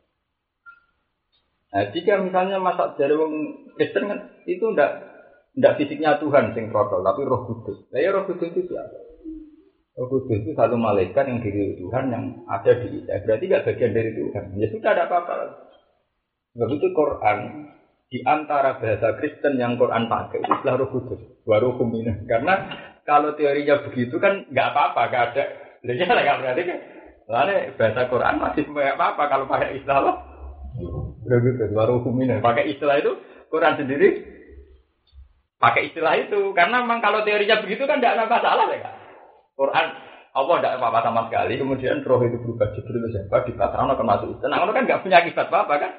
Nah, jika misalnya masak dari wong Kristen kan itu enggak fisiknya Tuhan sing produk, tapi Roh Kudus. Nah, ya Roh Kudus itu siapa? Roh Kudus itu satu malaikat yang diri Tuhan yang ada di Isa. Berarti tidak bagian dari Tuhan. Ya sudah ada apa-apa. Sebab itu Quran di antara bahasa Kristen yang Quran pakai itu adalah Roh Kudus. Waruhum minah. Karena kalau teorinya begitu kan nggak apa-apa, nggak ada. Jadi nggak berarti kan. Lalu bahasa Quran masih nggak apa-apa kalau pakai istilah Roh Kudus. Waruhum minah. Pakai istilah itu Quran sendiri pakai istilah itu. Karena memang kalau teorinya begitu kan nggak ada masalah ya kan. Quran Allah tidak apa-apa sama sekali, kemudian roh itu berubah Jibril siapa di pasaran akan masuk itu. Nah, kan nggak punya akibat apa kan?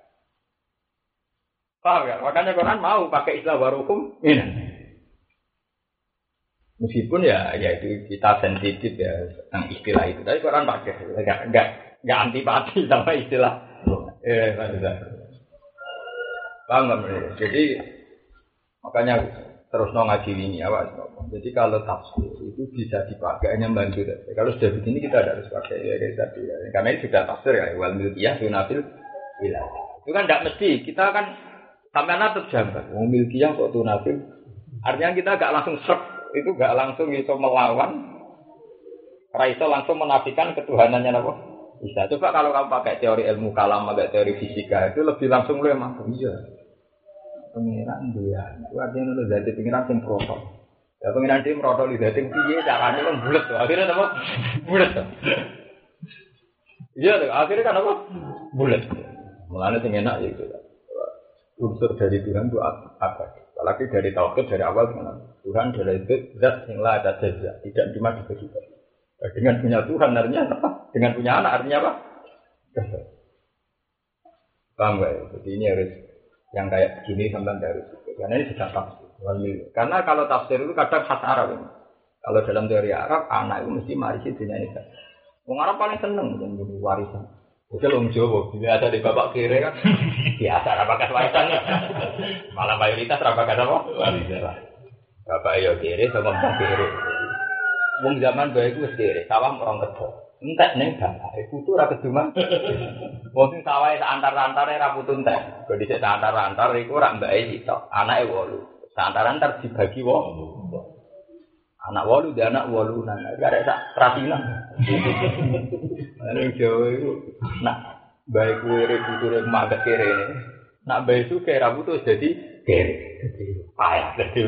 Paham ya? Makanya Quran mau pakai istilah warukum ini. Meskipun ya itu kita sensitif ya tentang istilah itu, tapi Quran pakai, nggak antipati sama istilah. Paham nggak? Jadi makanya terus ngaji ini awak. Jadi kalau tafsir itu bisa dipakai hanya bantu. Kalau sudah begini kita tidak harus pakai ya tadi ya. Karena ini sudah tafsir ya wal milkiyah tunafil wilayah. Itu kan tidak mesti kita kan sampean terjangkau. Wong milkiyah kok tunafil. Artinya kita enggak langsung shock, itu enggak langsung iso melawan. Ora iso langsung menafikan ketuhanannya apa? Bisa. Coba kalau kamu pakai teori ilmu kalam, pakai teori fisika itu lebih langsung lu emang iya. Pengiran dia, itu artinya itu dari pengiran yang protol. Ya pengiran dia protol itu dari piye caranya kan bulat tuh. Akhirnya apa? Bulat tuh. Iya tuh. Akhirnya kan apa? Bulat. Mulanya yang enak itu. Unsur dari Tuhan itu apa? Apalagi dari tauhid dari awal Tuhan dari itu zat yang lah ada jazah, tidak cuma dibagi. Dengan punya Tuhan artinya apa? Dengan punya anak artinya apa? Paham gak ya? Jadi ini harus yang kayak begini sampai dari situ. Karena ini sudah tafsir. Karena kalau tafsir itu kadang khas Arab ini. Kalau dalam teori Arab, anak itu mesti marisi dunia ini. Orang Arab paling seneng dengan warisan. Oke, orang Jawa, biasa di bapak kiri kan, biasa rapakan warisan. Malah mayoritas rapakan apa? Warisan. Bapak iyo kiri sama bapak kiri. Wong zaman baik itu kiri, sawah orang kedua. Entek ning bapak, putu ra keduman. Wong sing sawahe antar-antare ra putu entek. Kok dhisik antar-antar iku ra mbake sitok, anake 8. Antar-antar dibagi 8. Anak 8 dia anak 8 nang arek sak trasinan. Ning Jawa iku nak bae kuwi puture maget kere. Nak bayi suke rambut tuh jadi kere. Payah jadi.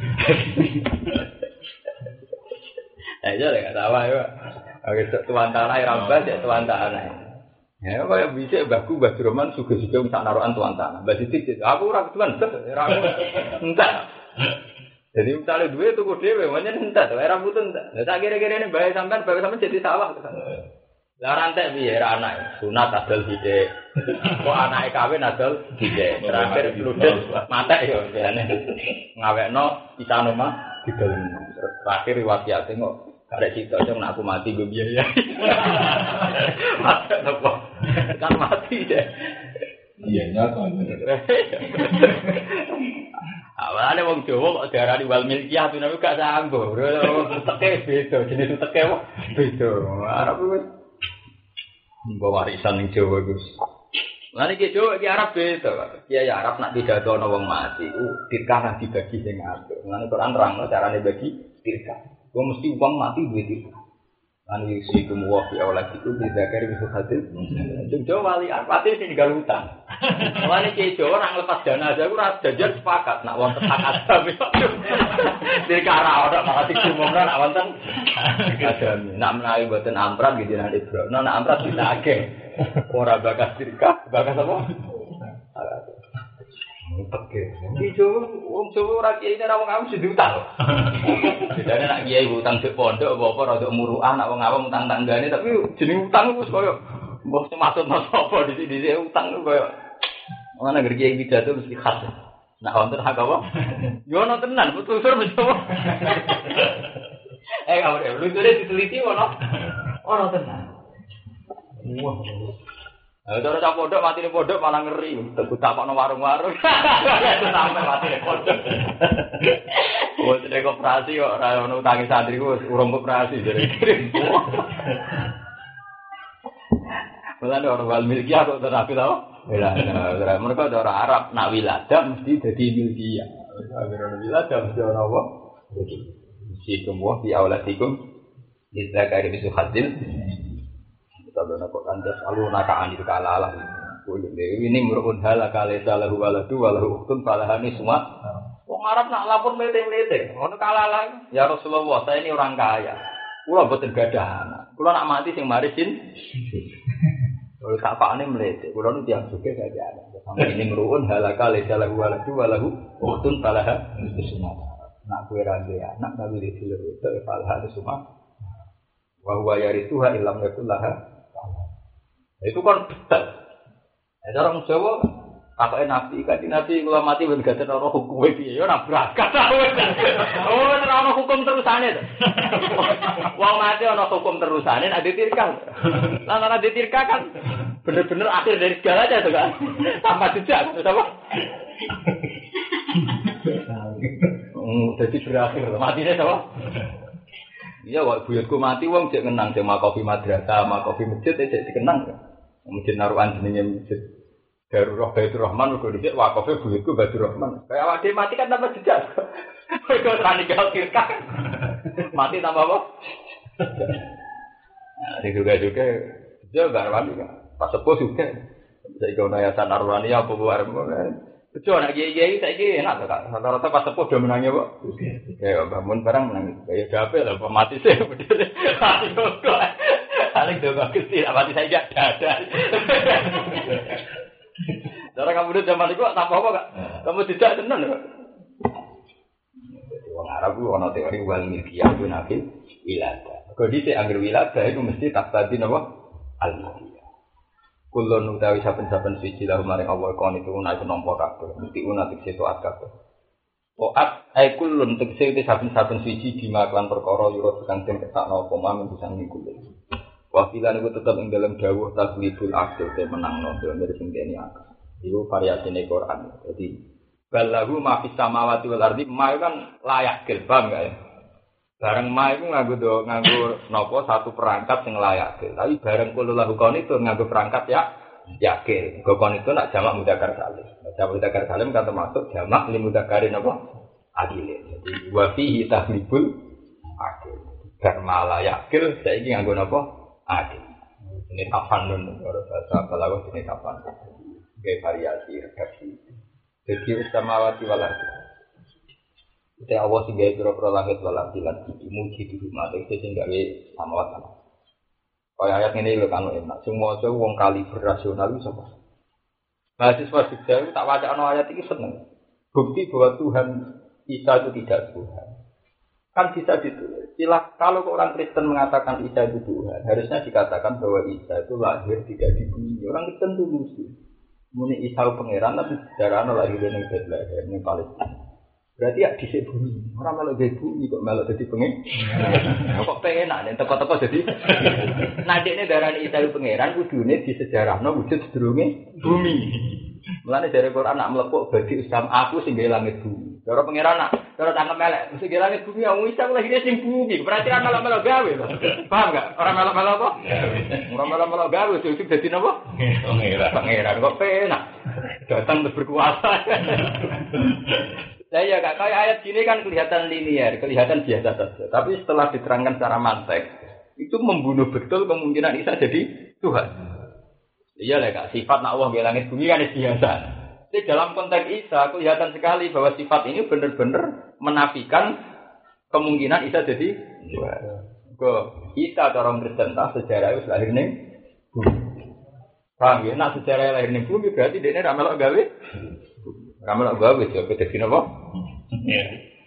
Aja lah enggak tahu ya. Oke, tuan tanah rambut ya tuan tanah. Ya kaya bisa baku Mbah Roman suge-suge sak narokan tuan tanah. Mbah Sidik aku ora ketuan ora entek. Jadi misalnya duwe tuku dhewe pancen entek wae rambut entek. Lah sak kira-kirane bae sampean jadi sawah. Lah rantek piye ra anak sunat adol sithik. Kok anake kawin adol sithik. Terakhir ludes matek yo jane. Ngawekno pisan omah didol. Terakhir riwayate kok arek cita cong aku mati go biaya. Mati apa? Kan mati deh. Iya nyata. Awalane wong Jawa kok diarani wal milkiyah tuh nek gak sanggo. Teke beda, jenis teke wae beda. Arep wis mbok warisan ning Jawa Gus. Lah iki Jawa iki Arab beda. Kiai Arab nak pidato ana wong mati ku dirkah dibagi sing apik. Mulane Quran nerangno carane bagi dirkah. Kok mesti wong mati duwe dirkah. Lan iki kumwa fi awladiku bizakari bisu hadir. Jawa wali arpate sing ninggal utang. Mulane Kiai Jawa ora nglepas jenazah ku ora jajar sepakat nak wonten hak adami. Dirkah ora ora malah diumumno nak wonten adami. Nak menawi mboten amprat gitu nek Ibro. Nak amprat ditagih. Ora bakas dirkah, bakas apa? Oke. Iki wong Jawa ora kiyaine ra wong awam sing diutang. Bedane nak kiai utang sik pondok apa rada muruah nak wong awam utang tanggane tapi jeneng utang wis koyo mbok sematutno sapa dhisik-dhisik utang koyo ana ngerti kiai pidato mesti khas. Nak wonten hak apa? Yo ono tenan putusur mencoba. Kamu lucunya diteliti ono tenan. Wah. Cara cak pondok mati ning pondok malah ngeri. Takokno warung-warung. Sampai mati ning pondok. Wes nek koperasi kok ora ono utangi santri ku urung koperasi jare. Mulane ora wal milkiyah kok terapi tau? Ora. Mereka orang Arab nak wiladah mesti dadi milkiyah. Agar wiladah mesti ana apa? Mesti kemuah di auladikum dizakari bisu hadil. Kalau nak kandas alu nakaan itu kalalah. Ini merupakan hal kalesa lahu waladu walahu uktun falahani semua. Wong Arab nak lapor melete-melete. Ono kalalah. Ya Rasulullah, saya ini orang kaya. Kula mboten gadah anak. Kula nak mati sing marisin. Kalau sapane melete. Kula nu tiyang sugih gadah anak. Sampai ini merupakan hal kalesa lahu waladu walahu uktun falahani semua. Nak kowe ra duwe anak tapi dhewe itu falahani semua. Wa huwa yarithuha illam yakul laha. Itu kan betul. Orang Jawa pakai nabi, kan nabi kalau mati berganti orang hukum itu, ya nabrak. Oh, orang hukum terusannya. Wong mati orang hukum terusannya, ada tirkah. Lantaran ada tirkah kan, bener-bener akhir dari segalanya tuh kan, tanpa jejak, apa? Jadi berakhir, matinya apa? Iya, waktu buyutku mati, wong cek kenang sama kopi madrasah, sama kopi masjid, cek dikenang. Masjid naruhan jenenge masjid Darurah Baitur Rahman, uga dicek wakofnya buyutku Baitur Rahman. Kayak awak dhewe mati kan tanpa jejak. Kok ora ninggal kirkah. Mati tanpa apa? Nah, sing juga dia garwan pas sepuh juga. Saiki ono yayasan Arwani apa bareng. Bejo anak kiai-kiai saiki enak to, Kak. Rata-rata pas sepuh do menangi kok. Ya bangun barang menangi. Ya gape lah mati sih. Paling doa Gusti, mati saya enggak ada. Cara kamu dulu zaman itu tanpa apa, Kak? Kamu tidak tenan, Kak. Wong Arab ku ana teori wal milkiyah ku nabi wiladah. Kok dhisik anggere wiladah itu mesti taqtadi napa? Al-milkiyah. Kulun utawi saben-saben suci lahum maring Allah kon itu ana iku nampa kabeh. Mesti ana tekse taat kabeh. Taat ai kulun tekse saben-saben suci dimaklan perkara yura kang den ketakno apa mamen bisa ngikuti. Wakilan itu tetap ing dalam dawuh takliful akil te menangno dari sing kene akal. Iku variasine Quran. Jadi balahu ma fis samawati wal ardi ma kan layak gelbam ya. Bareng ma iku nganggo napa satu perangkat sing layak. Tapi bareng kullahu kon itu nganggo perangkat ya yakil. Kon itu nak jamak mudzakkar salim. Jamak mudzakkar salim kan termasuk jamak li mudzakkarin apa? Adil. Jadi wa fihi takliful akil. Karena layak yakil saiki nganggo napa? Adil. Ini kapan nun, kalau bahasa balaghah ini kapan. Kayak variasi redaksi. Jadi samawati wal ardi. Kita Allah sing gawe pira-pira langit wal ardi lan muji di rumah iki sing gawe samawati. Kaya ayat ini lho kan enak. Semua wong kali berasional iso sapa? Mahasiswa Jogja itu tak wacana ayat ini seneng. Bukti bahwa Tuhan Isa itu tidak Tuhan. Kan bisa ditulis. Kalau orang Kristen mengatakan Isa itu Tuhan, harusnya dikatakan bahwa Isa itu lahir tidak di bumi. Orang Kristen itu lucu. Muni Isa pangeran tapi sejarah lahir di Bethlehem, di Palestina. Berarti ya di bumi. Orang malah di bumi kok malah jadi pangeran. Kok pengen nek teko-teko jadi. Nadine darani Isa itu pangeran kudune di sejarahno wujud sedurunge bumi. Mulane dari Quran nak mlepuk bagi Islam aku sing gawe langit bumi. Cara pangeran nak, cara tangkep melek, mesti gawe langit bumi wong Isa lahir sing bumi. Berarti ora melok-melok gawe to. Paham enggak? Ora melok-melok apa? Ora melok-melok gawe cukup dadi napa? Pangeran kok penak. Datang terus berkuasa. Lah ya Kak, kayak ayat gini kan kelihatan linear, kelihatan biasa saja. Tapi setelah diterangkan secara mantek, itu membunuh betul kemungkinan Isa jadi Tuhan. Iya lah Kak, sifat nak Allah di langit bumi kan biasa. Jadi dalam konteks Isa kelihatan sekali bahwa sifat ini benar-benar menafikan kemungkinan Isa jadi Tuhan. Isa orang Kristen tak sejarah itu lahir ning bumi. Paham ya? Nak sejarah lahir ning bumi berarti dia ra melok gawe. Ra melok gawe yo dadi napa? Iya.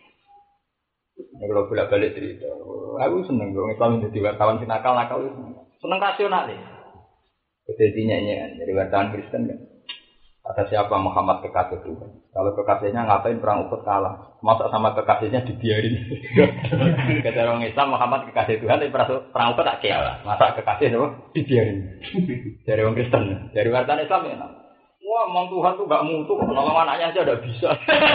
Kalau bolak-balik cerita, aku seneng dong Islam jadi wartawan sing nakal-nakal itu. Seneng rasional ya. Jadi nyanyian dari wartawan Kristen kan. Kata siapa Muhammad kekasih Tuhan. Kalau kekasihnya ngapain perang Uhud kalah. Masa sama kekasihnya dibiarin. Kata orang Islam Muhammad kekasih Tuhan tapi perang Uhud tak kalah. Masa kekasih itu dibiarin. Dari orang Kristen. Dari wartawan Islam ya. Wah, emang Tuhan tuh gak mutu, nolong anaknya aja udah bisa.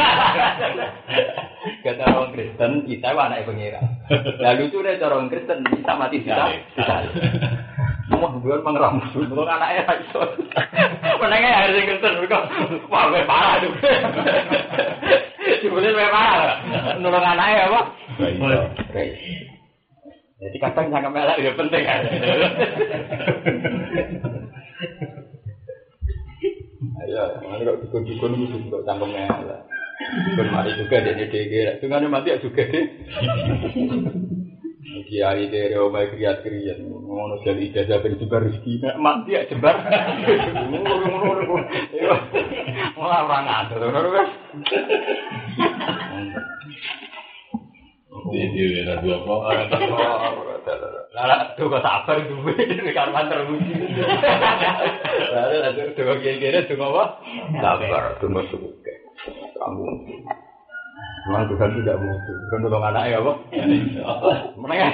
Kata orang Kristen, kita anaknya pengira. Lalu itu deh orang Kristen bisa mati bisa. Wah, bukan mengeram musuh, nolong anaknya iso. Menengah harus Kristen, wah, parah tuh. Sebenarnya parah, nolong anaknya apa? Jadi kadang sangat melak itu penting kan. Ya, mana kalau dukun-dukun itu juga cangkemnya lah. Dukun mari juga dia DG, dengan mati juga deh. Kiai dari Omai kriat-kriat, ngono jadi ijazah berjebar rezeki, mati ya jebar. Malah orang ada, kan? Dia ada dua kok. Lah, tuh kok sabar duwe karwan terpuji. Lah, ada tuh kira-kira tuh apa? Sabar, tuh masuk. Kamu. Memang Tuhan tidak mutu. Bukan tolong anak ya, apa? Menengah.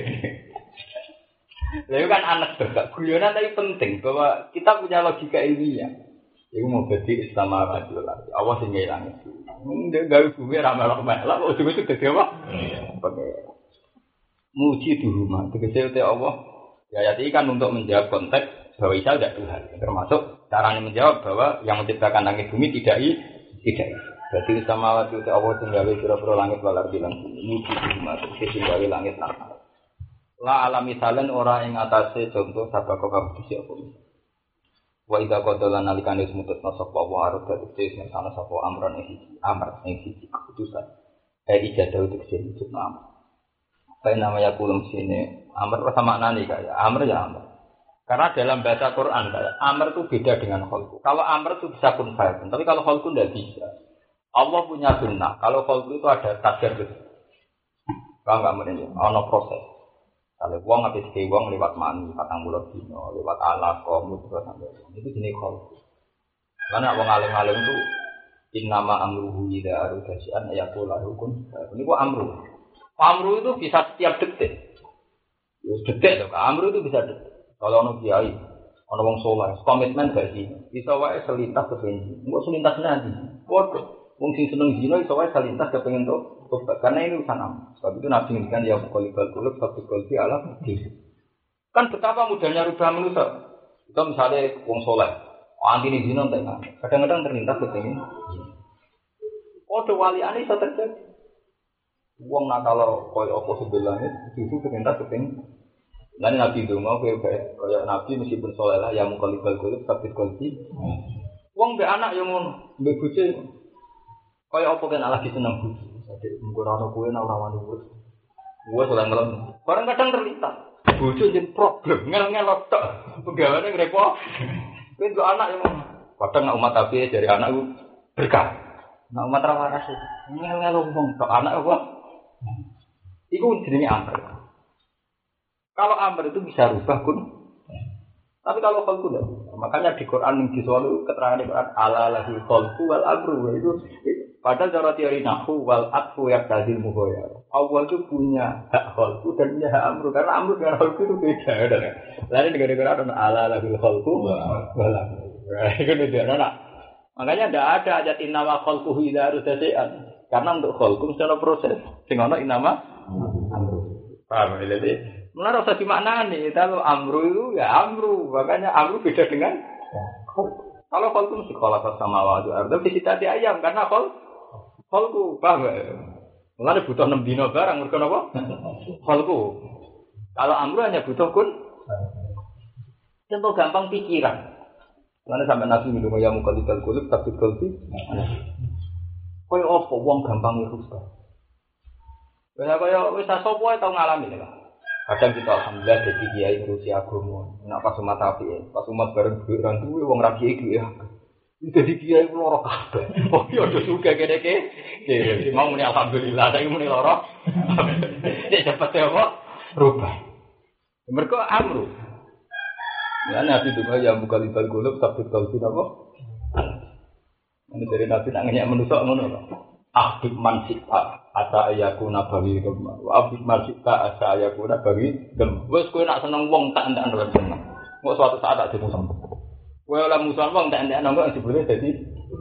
Lalu kan anak juga. Guyonan tapi penting bahwa kita punya logika ilmiah. Iku mau jadi Islam radikal. Allah sing ngilang itu. Ndek gawe bumi ra melok-melok ujug-ujug dadi apa? Muji di rumah. Tegese te Allah. Ya ayat ini kan untuk menjawab konteks bahwa Isa tidak Tuhan. Termasuk caranya menjawab bahwa yang menciptakan langit bumi tidak. Berarti sama waktu te Allah sing gawe pira-pira langit wal ardi lan bumi. Muji di rumah. Tegese sing gawe langit lan bumi. La alam misalan ora ing atase contoh sabako kabudhi apa. Wa idza qadala nalikane semutna sapa wa arep dadi sing ana sapa amran ing siji keputusan ijadah untuk sing amr. Apa namanya kulum sini amr sama maknane kayak amr ya amr. Karena dalam bahasa Quran kayak amr itu beda dengan khalqu. Kalau amr itu bisa kun fa'il, tapi kalau khalqu tidak bisa. Allah punya sunnah. Kalau khalqu itu ada tajarrud. Kalau enggak mungkin ana proses. Kalau wong habis ke wong lewat mani, patang bulan dino, lewat alaqah, mudghah sampai itu jenis khalqu. Karena wong alim-alim itu innama amruhu idza arada syai'an yaqulu kun. Ini kok amru. Amru itu bisa setiap detik. Ya detik loh, amru itu bisa detik. Kalau ono kiai, ono wong saleh, komitmen gak sih? Iso wae selintas kepengen. Engko selintas nanti. Waduh, wong sing seneng zina iso wae selintas kepengen to. Karena ini urusan am. Sebab itu Nabi ngendikan ya qalibal qulub fabiqul fi ala kan betapa mudahnya rubah manusia. Itu misalnya wong saleh, anti zina entek. Kadang-kadang terlintas kepengen. Kode waliane iso terjadi. Wong nakal koyo apa sebelah itu terlintas kepengen. Lan Nabi donga kowe kaya Nabi meskipun saleh lah ya qalibal qulub fabiqul fi. Wong mbek anak yo ngono, mbek bojo. Kaya apa kan lagi seneng bojo. Sadek mung ora ono kowe ora wani urus. Gua sudah ngelem. Orang kadang terlintas. Bojo jen problem, ngel-ngel tok. Pegawane ngrepo. Kowe kok anak yo ngono. Kadang nek umat tapi dari anak ku berkah. Nek umat ra waras. Ngel-ngel wong tok anak apa? Iku jenenge amr. Kalau amr itu bisa rubah kun. Tapi kalau khalqu tidak. Makanya di Quran yang diselalu keterangan di Quran ala lahul khalqu wal amru itu padahal cara teori nahwu wal atfu yaqtadil mughayar. Allah itu punya hak khalqu dan punya hak amru karena amru dengan khalqu itu beda kan. Lain negara-negara ada ala lahul khalqu wal amru. Itu beda nak. Makanya tidak ada ayat innama khalquhu idza arudasian. Karena untuk khalqu mesti ada proses. Sing ana innama amru. Paham ya? Mulai rasa dimaknani, kalau amru itu ya amru, makanya amru beda dengan kalau kholku mesti kalau sama wajib ardo visitasi ayam karena kholku paham nggak? Mulai butuh 6 dino barang, mereka apa? Kholku. Kalau amru hanya butuh kun, contoh gampang pikiran. Mulai sampai nabi minum ayam mukalikal kulub tapi kulti. Kau apa? Wong gampang itu rusak. Kaya wis sopo tau ngalami lah. Kadang kita alhamdulillah jadi kiai ngurusi agama. Nak pas umat api, pas umat bareng duit orang duit, wong rakyat itu ya. Jadi kiai loro kabeh. Oh iya udah suka kene-kene. Jadi mau muni alhamdulillah, saya muni loro. Nek dapat apa? Rubah. Mergo amru. Ya nabi itu ya buka libal golok tapi kalau tidak apa? Ini dari nabi nak ngeyak menusuk ngono lho. Abid mansita asa ayakuna bagi gemar. Abid mansita asa ayakuna bagi gemar. Wes kowe nak seneng wong tak ndak ndak seneng. Kok suatu saat tak dimusuh. Kowe ora musuh wong tak ndak nang kok jebule dadi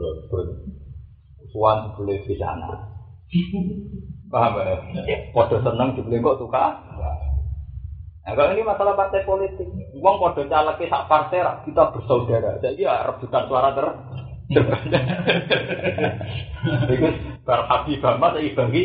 suwan jebule di sana. Paham ya? Padha seneng jebule kok suka. Nah, kalau ini masalah partai politik. Wong padha caleke sak partai rak kita bersaudara. Saiki rebutan suara terbanyak. Itu berhabis banget saya bagi.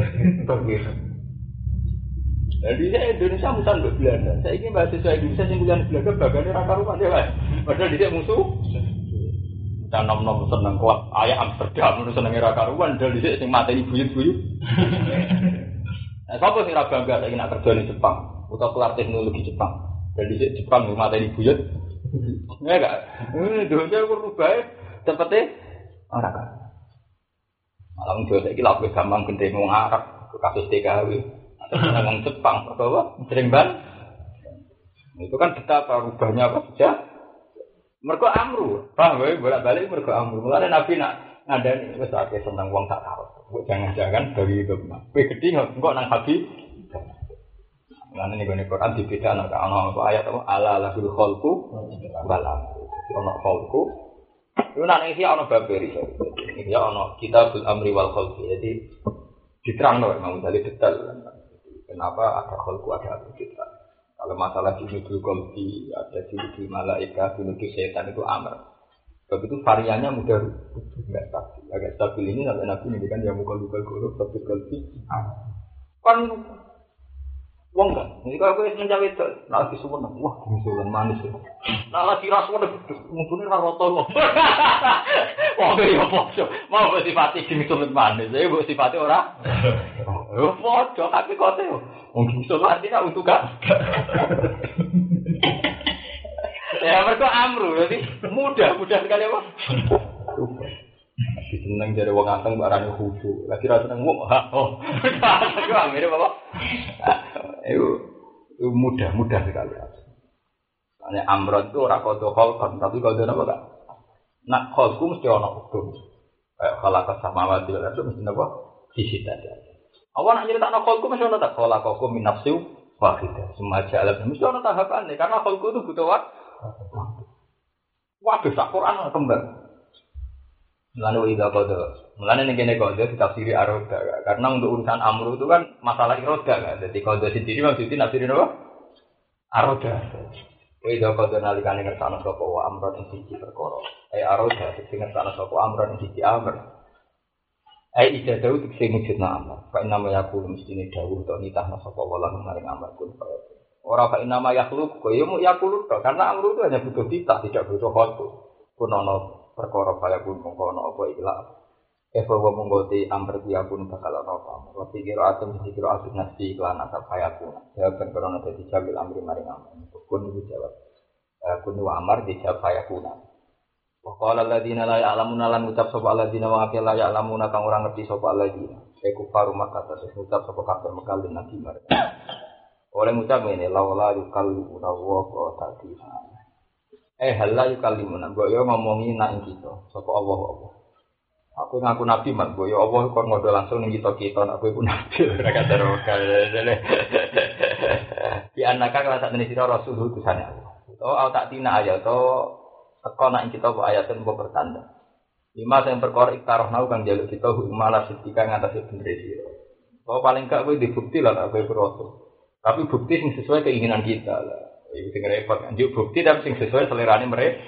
Jadi saya Indonesia musuhan ke Belanda. Saya ingin mahasiswa Indonesia yang kuliah di Belanda bagainya raka rumah dia kan. Padahal dia musuh. Kita nom seneng kuat. Ayah Amsterdam itu senengnya raka rumah. Dan dia yang mati buyut-buyut. Nah, siapa sih raga bangga saya ingin kerja di Jepang atau kelar teknologi Jepang. Dan dia Jepang yang mati buyut. Ya enggak. Dunia berubah. Tempatnya orang kan. Malam juga saya kira lebih gampang gede ngomong Arab ke kasus TKW atau ngomong Jepang atau apa sering ban. Itu kan betapa rubahnya apa saja. Mergo amru, paham ya bolak-balik mergo amru. Mulane Nabi nak ngandani wis akeh seneng wong tak karo. Mbok jangan-jangan dari itu mah. Kowe gedhi engko nang habi. Mulane ning Quran dibedakno ana ayat apa ala lahul khalqu balam. Ono khalqu itu nanti sih ono baberi, ya ono kitabul amri wal khalqi. Jadi diterang loh, memang dari detail. Kenapa ada khalqu ada kita? Kalau masalah junudul khalqi, ada junudul malaika, junudul setan itu amr. Sebab itu variannya mudah nggak stabil. Agak stabil ini sampai nabi ini kan yang mukul golok, stabil khalqi. Kan wong kan, jadi kalau gue mencapai itu, lagi semua, wah misalnya manis ya. Nah lagi rasuah deh, mungkin rotol. Wah ya bocor, mau bersifati misalnya manis, saya bersifati orang. Bocor, tapi kau tahu, mungkin misalnya artinya untuk kan? Ya mereka amru, jadi mudah sekali apa? Lagi seneng jadi wong anteng barangnya khusyuk, lagi rasa seneng wong, oh, mirip apa? Itu mudah sekali. Soalnya amron itu orang kodoh kolkon, tapi kodoh apa tak? Nak kolku mesti orang hukum. Kayak kalau kesamawati itu mesti apa? Sisi tadi. Awak nak cerita nak kolku mesti orang tak? Kalau kolku minapsiu wahidah. Semua jalan mesti orang tahapan nih, karena kolku itu butuh waktu. Waduh, sak Quran kembar. Lalu ida kodoh, mulanya negene kodoh ditafsiri aroda, karena untuk urusan amru itu kan masalah iroda kan, jadi kodoh sendiri maksudnya nafsirin apa? Aroda. Ida kodoh nalikane ngersano sopo wa amron yang siji perkara. Aroda sing ngersano sopo amron yang siji amr. Ida dawuh sing wujudna amr. Fa inna ma yaqulu mestine dawuh to nitahna sopo wala maring amr kun. Ora fa inna ma yaqulu kok ya mu yaqulu to, karena amru itu hanya butuh titah, tidak butuh khotu. Kunono perkara kaya pun mongkono apa ikhlas. Bahwa menggoti amr dia pun bakal apa. Waktu kira atom kira asik nasi iklan asap kaya pun. Jawaban korona dadi jabil amri maring amal. Kun dijawab. Kun wa amar dijawab kaya pun. Qala alladziina la ya'lamuuna lan ucap sapa alladziina wa akil la ya'lamuuna kang ora ngerti sapa alladziina. Iku faru Makkah terus ucap sapa kafir Mekah lan Nabi mereka. Oleh ngucap ngene laula yukallimuna wa ta'ala. Halla yukallimuna. Mbok yo ngomongi nak kita sapa Allah. Aku ngaku nabi mat, boyo Allah kon ngodo langsung ning kita nak kowe ku nabi ora kadar kale. Di anaka kala sak tenis rasul utusane Allah. Au tak tina ayat to teko nak kita kok ayatun kok pertanda. Lima sing perkara iktarah nau kang jaluk kita malah setika ngatasi bener sira. Oh paling gak kowe dibukti lah kowe rasul. Tapi bukti sing sesuai keinginan kita lah. Iki sing repot kan bukti tapi sing sesuai selerane mereka.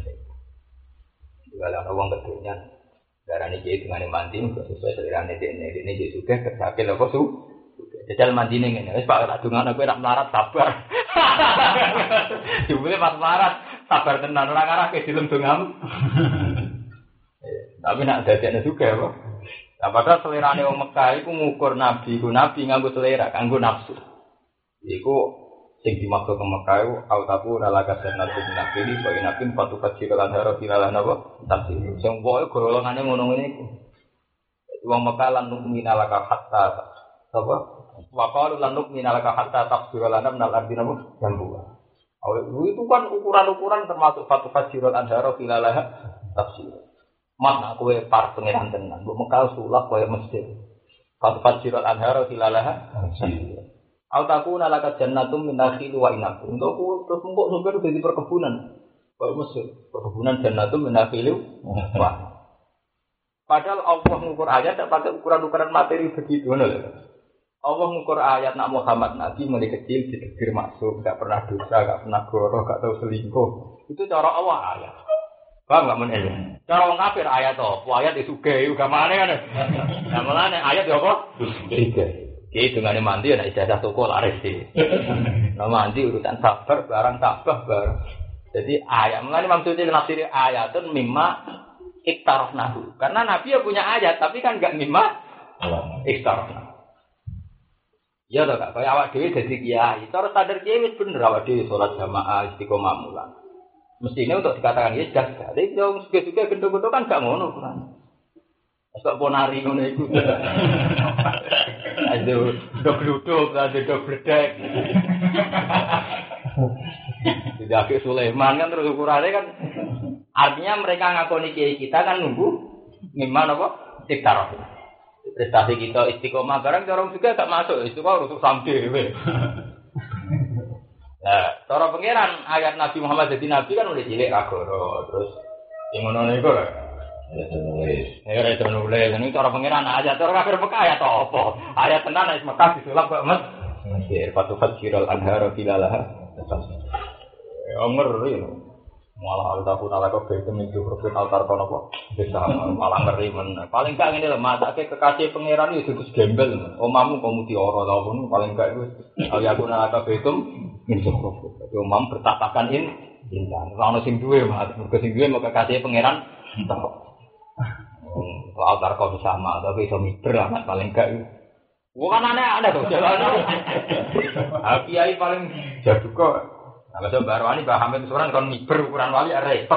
Kalau ana wong kedunya darane iki dungane mandi sesuai selera dene iki juga kesake lho kok su jajal mandine ngene wis Pak tak dungane kowe rak melarat sabar jebule pas melarat sabar tenan ora karake dilem dongamu tapi nak dadekne juga apa padahal selerane wong Mekah iku ngukur nabi nganggo selera kanggo nafsu iku sing dimaksud ke Mekah itu autaku nalaka senatu minakili bagi nabi patu kecil lanhara filalah napa tapi sing wae golongane ngono ngene iku wong Mekah lan minalaka hatta apa wa qalu lan minalaka hatta tafsir lana minal ardi napa jambu itu kan ukuran-ukuran termasuk patu kecil lanhara filalah tafsir makna kowe par pangeran tenan mbok Mekah sulap koyo mesjid patu kecil lanhara filalah tafsir Autaku nalaka jannatum min nakhil wa inab. Untuk terus engko sumber dadi perkebunan. Kok Mesir, perkebunan jannatum min nakhil wa. Padahal Allah ngukur ayat tak pakai ukuran-ukuran materi begitu ngono lho. Allah ngukur ayat nak Muhammad Nabi mulai kecil ditegir masuk, enggak pernah dosa, enggak pernah goroh, enggak tahu selingkuh. Itu cara Allah ayat. Paham enggak men? Cara wong kafir ayat apa? Ayat disugahi uga mane kan. Nah mulane ayat yo apa? Disugahi. Iki dungane mandi ana ijazah toko laris iki. Nah mandi urusan sabar barang tabah barang. Jadi ayat mulane maksudnya nafsir ayatun mimma iktarafnahu. Karena Nabi ya punya ayat tapi kan enggak mimma iktarafnahu. Ya toh Kak, kaya awak dhewe dadi kiai. Cara sadar kiai wis bener awak dhewe salat jamaah istiqomah mulan. Mestinya untuk dikatakan ya jaga. Tapi wong suge-suge gendho-gendho kan gak ngono kan. Asal ponari ngono iku. Aduh, dok gluduk, dok bledek. Tidak ke Sulaiman kan terus ukurannya kan. Artinya mereka ngakoni kiai kita kan nunggu gimana apa? Tiktarah. Prestasi kita istiqomah barang orang juga gak masuk. Istiqomah untuk sampai. Nah, cara pangeran ayat Nabi Muhammad jadi nabi kan udah cilik kagoro. Terus yang ngono niku lho. Ya itu nulis. Ini cara pangeran ayat cara kafir Mekah ayat apa? Ayat tenan ayat Mekah disulap kok Mas. Mesir patu fajirul anhara filalah. Ya ngeri lho. Malah altaku nalaka bete minggu profit altar kono kok. Bisa malah ngeri men. Paling gak ngene lho, matake kekasih pangeran iki terus gembel. Omamu kamu dioro ta pun paling gak iku aku nalaka bete minggu profit. Omam bertatakan intan. Ora ono sing duwe, Mas. Mergo sing duwe mau kekasih pangeran entek. Altar kok sama, tapi iso miber amat paling gak iku. Bukan aneh-aneh to jalan. Kiai paling jadu kok. Kalau coba Barwani Mbah Hamid Suran kon miber ukuran wali repot.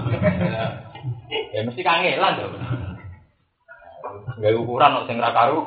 Ya mesti kangelan to. Gawe ukuran kok sing ra karu.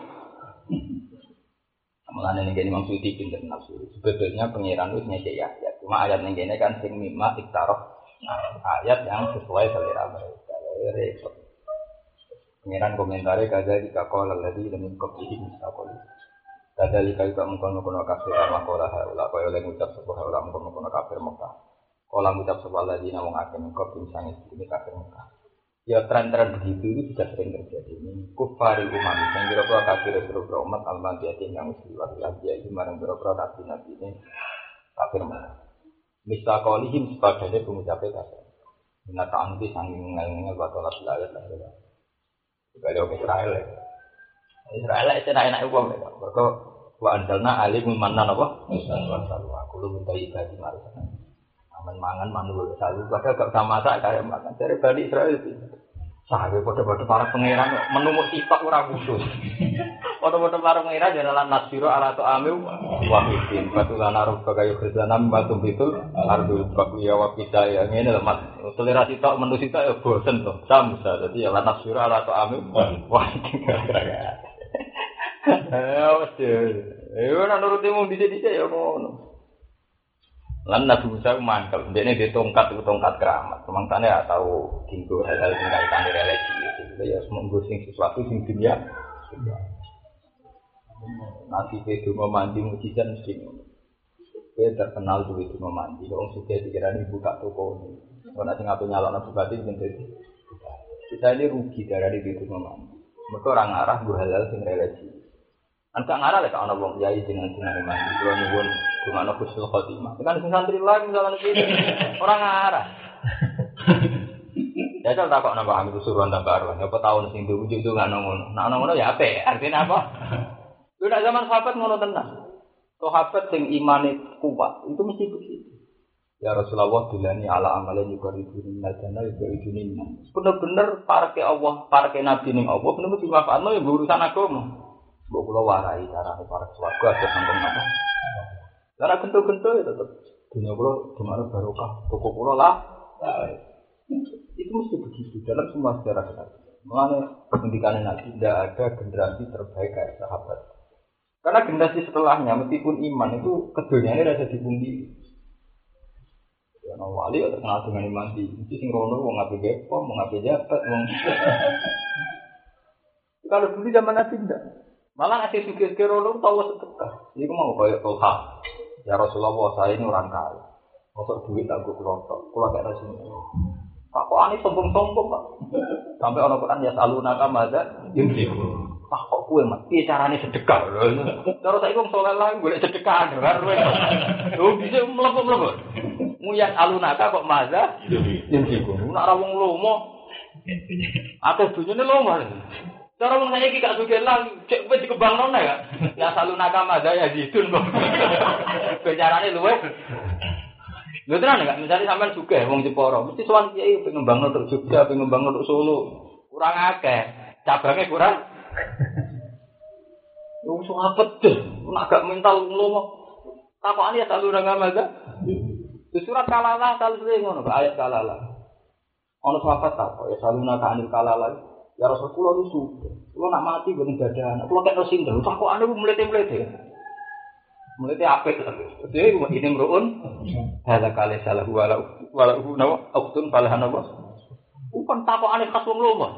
Mulane ning kene Imam Suyuti pinter nafsu. Sebetulnya pangeran wis nyekek ya. Cuma ayat ning kene kan sing mimma iktaraf. Ayat yang sesuai selera mereka. Repot. Pangeran komentare kaza dikakol lalladzi lam yuqbihi mustaqol. Kadalika juga mengkono-kono kafir makola haula kaya oleh ngucap sebuah haula mengkono-kono kafir Mekah. Kala ngucap sebuah lagi namung akeh mengko pinsane iki kafir Mekah. Ya tren-tren begitu itu sudah sering terjadi. Ini kufari umat yang kira-kira kafir seluruh umat al-madiyati yang usiwat lagi itu marang kira-kira nabi ini kafir Mekah. Misakolihim sebagainya pengucapnya kafir. Binataan itu sanging ngel-ngel batolah bilayat lah. Juga Israel ya. Israel itu enak uang mereka. Mereka wa anzalna alim manan apa? Wasallu aku lu minta ibadah marisa. mangan manul sayu padahal gak usah masak kaya makan. Dari Bani Israil itu. Sayu padha-padha para pangeran menumuk sitok ora khusus. Padha-padha para pangeran jalan nasbiro ala ta'amil wahidin. Batulana rubbaka kayu khizanam batum bitul ardu baqiya wa qidaya ngene lho Mas. Selera sitok menu sitok ya bosen to. Samsa dadi ya nasbiro ala ta'amil wahidin. Wes. Ora nuruti mung dhisik-dhisik ya ngono. Lan Nabi Musa mangkel, dene di tongkat keramat. Semangsane ora tau dinggo hal-hal sing kaitane religi. Ya semonggo sing sesuatu sing dunia. Nanti itu mandi mujizat mesti ngono. Kowe terkenal duwe itu mandi, wong sugih dikirani buka toko. Ora sing ape nyalokno bupati menjadi. Kita ini rugi darane itu mandi. Mergo ora ngarah nggo halal sing religi. Angka ngarah lek ana wong kiai jenengan mandi. Kulo nyuwun gimana husnul khotimah. Kan sing santri lain misalnya iki ora ngarah. Ya tak kok nambah ambil suruhan tambah arwah. Apa tahun sing diwujud itu nggak ngono. Nah ngono ya apik. Artinya apa? Lu nak zaman sahabat ngono tenan. Sahabat sing imane kuat itu mesti begitu. Ya Rasulullah dilani ala amalan juga ridun najana juga ridun. Bener-bener parke Allah, parke Nabi ning Allah bener-bener dimanfaatno ya urusan agama. Mbok kula warai carane para swarga aja sampun apa. Lah gento-gento ya tetep dunia kula dimana barokah, toko kula lah. Itu mesti begitu dalam semua sejarah kita. Mengenai pendidikan Nabi tidak ada generasi terbaik kayak sahabat. Karena generasi setelahnya meskipun iman itu keduniaannya rasa dipungkiri. Ya wali terkenal dengan iman di sing rono wong ngape gepom, wong ngape jabat, wong. Kalau dulu zaman Nabi tidak. Malah ngasih sugih-sugih rono tahu sedekah. Iku mau koyo Tolha. Ya Rasulullah saya ini orang kaya. Masuk duit tak gue kelotok. Kula gak rasine. Tak kok ani sombong-sombong Pak. Sampai ana Quran ya salunaka madza yunfiq. Tak kok kowe Mas, piye carane sedekah? Cara saiki wong saleh lah golek sedekah karo. Lho bisa mlebu-mlebu. Muyas alunaka kok madza yunfiq. Nek ora wong lomo. Atus dunyane lomo. Cara wong saiki gak sugih lah, cek wis dikembangno nek ya. Ya salunaka madza ya zidun kok. Carane luwih. Lho tenan enggak, misalnya sampean sugih wong Jepara, mesti sowan kiai pengen ngembangno tok Jogja, pengen ngembangno tok Solo. Kurang akeh, cabangnya kurang. Wong sahabat deh, nek gak mental nglomo. Takokane ya selalu nang amaga. Di surat Kalalah saleh ngono, ayat Kalalah. Ono sahabat takok ya selalu nang anil Kalalah. Ya Rasulullah itu, kula nak mati ben dadan. Kula kek sinten, takokane mlete-mlete. Mulai apik lho. Dhewe ini mruun. Hala kale salah walau nawa aktun falahan apa? Upon takokane khas wong lomo.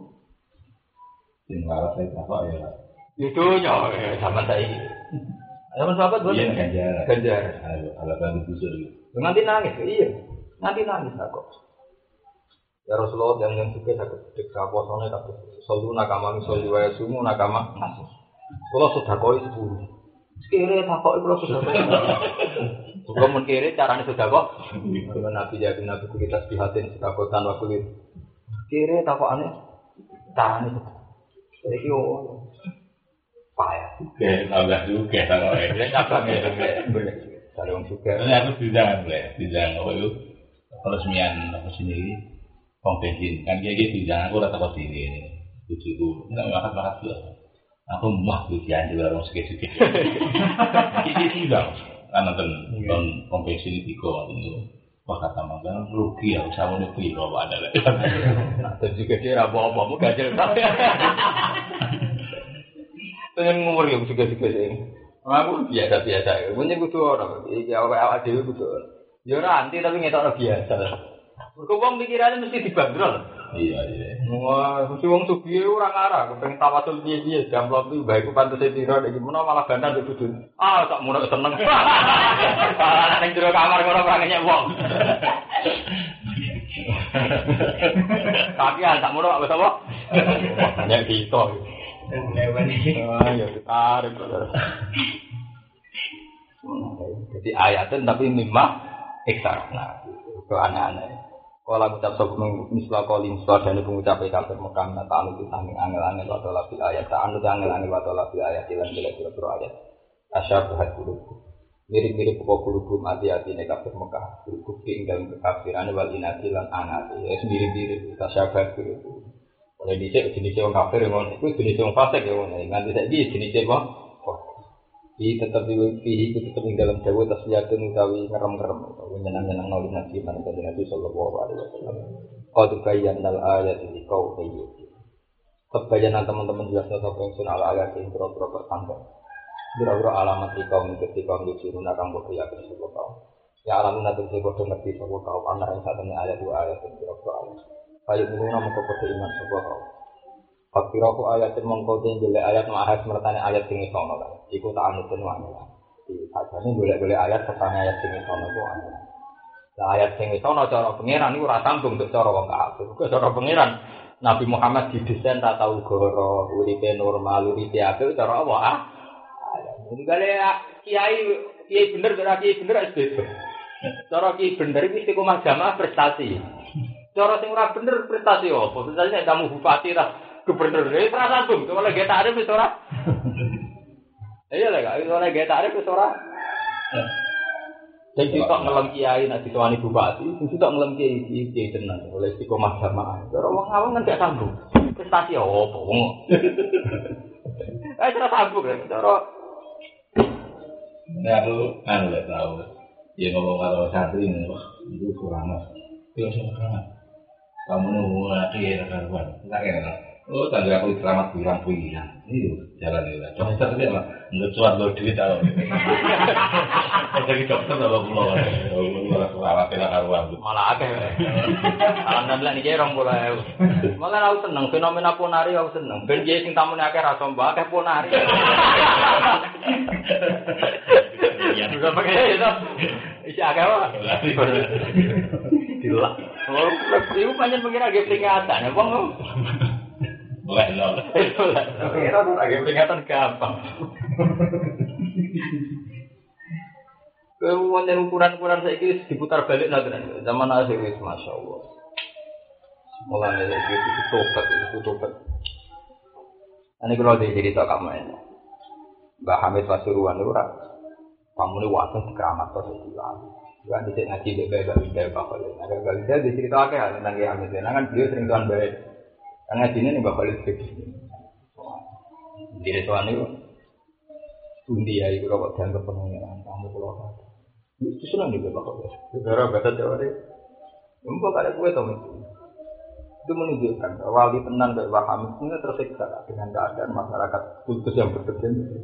Sing laras saya takok ya. Itu nya zaman saiki. Zaman sahabat boten ganjar. Ala kan busur. Nganti nangis, iya. Nganti nangis aku. Ya Rasulullah yang suka sakit sedekah posone kabeh. Solu nakama soli wa sumu nakama nasi. Kula sedekah 10. Kere takok iku sudah kok. Juga mun kere carane sudah kok. Dengan Nabi jadi Nabi kita sihatin sekakotan wa kulit. Kere takokane carane. Iki yo payah. Oke, tambah juga takoke. Cabang ya. Kalau wong suka. Ini aku bidang apa itu peresmian apa sini bensin kan kayak gitu bidang aku rata kok sini ini. Tujuku enggak makan juga. Aku mah ujian juga orang sedikit. Ini tidak, karena kan bensin itu itu wah kata makan rugi ya, sama rugi kalau ada lah. Nah, dan juga dia apa-apa, mau gajel tapi. Pengen ngumur yang juga sih. Aku biasa. Punya kudu orang, awal dewi kudu. Ya nanti tapi ngetok biasa. Wong pikirannya mesti dibanderol. Iya. Wah, mesti wong sugih ora ngarah, kepen tawasul piye-piye, jamplok iki bae ku pantese pira iki menawa malah bandan nduk dudun. Ah, tak munek seneng. Malah ning jero kamar ngono ora ngenyek wong. Tapi tak munek apa sapa? Banyak kita. Ah, ya ditarik. Jadi ayatnya tapi mimah ekstra. Nah, itu aneh-aneh. Kalau ngucap sebelum misal kali misal dan pengucap kafir Mekah ta'anu kita angel-angel atau labil ayat ta'anu angel-angel atau labil ayat lan bila ayat asyab hadul Mirip-mirip pokok kulubum hati-hati nek kafir Mekah. Bukti ing dalem kekafiran wal inati lan anati. Ya mirip-mirip tasyabbah itu. Oleh dhisik jenis wong kafir ngono iku jenis wong fasik ya ngono. Nganti saiki jenis apa? Iki tetep iki tetep ing dalam dawuh tasliyatun utawi ngerem-ngerem utawa nyenang-nyenang nuli nabi man kanjeng Nabi sallallahu alaihi wasallam. Qad bayyana al-ayati liqaumin. Kebayanan teman-teman jelas sapa yang sunah ayat sing pro-pro tangga. Biro-biro alamat di kaum ketika menunjukkan akan bukti yang tersebut kaum. Ya alamun nanti bodoh ngerti sebuah kaum anak yang satunya ayat dua ayat dan biro-biro ayat. Kayu menuna mengkode iman sebuah kaum. Fakiraku ayat yang mengkode boleh ayat mahas mertanya ayat tinggi sono kan. Ikut anutin wanita. Di sajane boleh ayat sertanya ayat tinggi sono itu wanita. Nah ayat tinggi sono cara pengiran itu rasambung untuk cara wong kafir. Cara pengiran Nabi Muhammad didesain tak tahu goro, uripe normal, uripe apik cara apa Jadi kalau kiai bener, kiai bener es beda. Cara kiai bener itu istiqomah jamaah prestasi. Cara sing ora bener prestasi apa? Prestasi nek kamu bupati lah gubernur itu ora sambung. Kalau lagi tarif wis ora. Iya lah, kalau lagi tarif wis ora. Jadi kok ngelem kiai nek ditawani bupati, mesti kok ngelem kiai tenan oleh istiqomah jamaah. Cara wong awam kan gak sambung. Prestasi apa wong. Ora sambung kan cara ya aku nggak tahu. Dia ngomong kalau santri itu kurang mas. Itu kurang. Kamu nunggu lagi ya kawan. Enggak kena. Oh tangga aku selamat bilang. Itu jalan itu. Dokter dia mah nggak cuat lo duit tahu. Jadi dokter kalau pulau. Malah kena karuan. Malah akeh. Alhamdulillah nih orang mulai. Malah aku seneng fenomena ponari aku seneng. Ben dia sing tamune akeh ra somba akeh ponari. Ya juga pakai itu. Isi akeh wae. Dilak. Oh, iku pancen pengira ge peringatan. Wong boleh lho. Pengira tuh agak peringatan gampang. Kemudian ukuran-ukuran saiki diputar balik nanti. Zaman akhir wis masyaallah. Mulane iki tobat. Ane kalau cerita kamu ini. Mbah Hamid Pasuruan itu ora pamune wae keramat to istilah. Juga dhisik ngaji bebek bebek bakal. Ada galida diceritaake tentang Ki Hamid. Kan beliau sering tuan bae. Kan ngajine ning bakal iki. Dire tuan itu Undi ya iku kok dianggap pengen tamu kula. Itu seneng juga bakal. Negara batas Jawa ini. Mbok ada kowe to itu menunjukkan wali tenan kayak Mbah Hamid ini tersiksa dengan keadaan masyarakat kultus yang berkembang.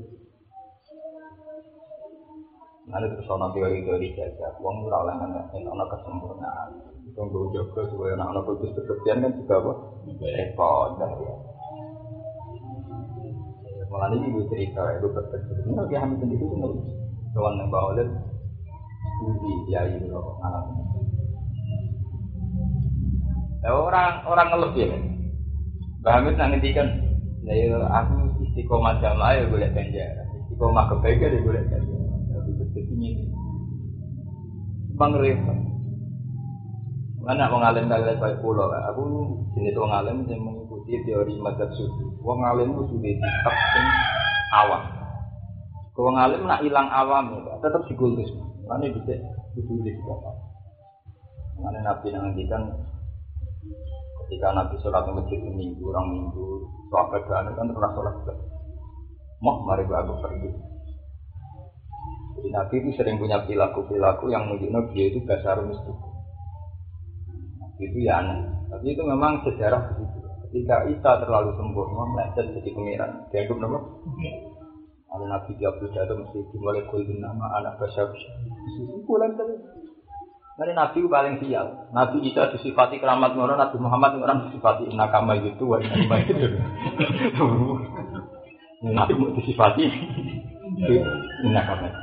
Nanti terus orang teori-teori saja, uang murah lah kan, orang kesempurnaan. Tunggu jaga supaya anak-anak kultus berkembang kan juga apa? Repot dah ya. Malah ini ibu cerita, ibu berkembang. Ini Mbah Hamid sendiri itu nggak kawan yang bawa dan studi ya itu anak. Orang ngelebih ya. Mbah Hamid nak ngendikan, "Ya aku istiqomah jamaah ya golek ganjaran. Istiqomah kebaikan ya golek ganjaran." Tapi sepertinya Bang repot. Mana wong alim kalian baik pulau. Aku jenis wong alim yang mengikuti teori madzhab sufi. Wong alim itu sudah ditap sing awam. Wong alim nak hilang awam ya, tetap dikultus. Mana bisa ditulis apa? Mana Nabi ngendikan ketika Nabi sholat di masjid minggu, orang minggu, sahabat kan pernah sholat mau mari aku pergi. Jadi Nabi itu sering punya perilaku yang menunjukkan dia itu dasar mistik. Itu ya aneh. Tapi itu memang sejarah begitu. Ketika Isa terlalu sempurna, meleset jadi pangeran. Dianggap nama? Ada Nabi Abdul Jatuh mesti dimulai kulin nama anak Basyar. Bulan tadi. Nanti Nabi paling sial. Nabi Isa disifati keramat orang, Nabi Muhammad orang disifati nakama gitu, wah nakama itu. Nabi mau disifati nakama.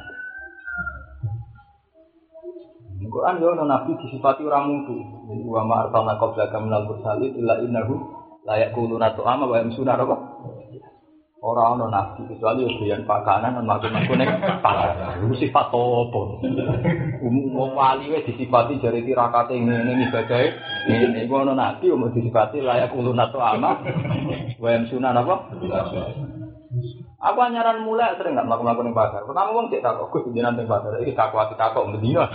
Quran yo Nabi disifati orang mutu. Wa ma arsalna qablaka minal mursalin illa innahu la yaquluna ta'ama wa yamsuna apa? Ora ana nabi kecuali doyan pakanan lan makan-makan ning pasar. Iku sifat apa? Umum wali wis disifati jare tirakate ngene ibadahe. Ngene iku ana nabi umum disifati layak ulun atau ama. Wa yamsuna apa? Aku anyaran mulai sering nggak melakukan yang pasar. Pertama uang cek takut, aku jangan yang pasar. Ini takut mendino.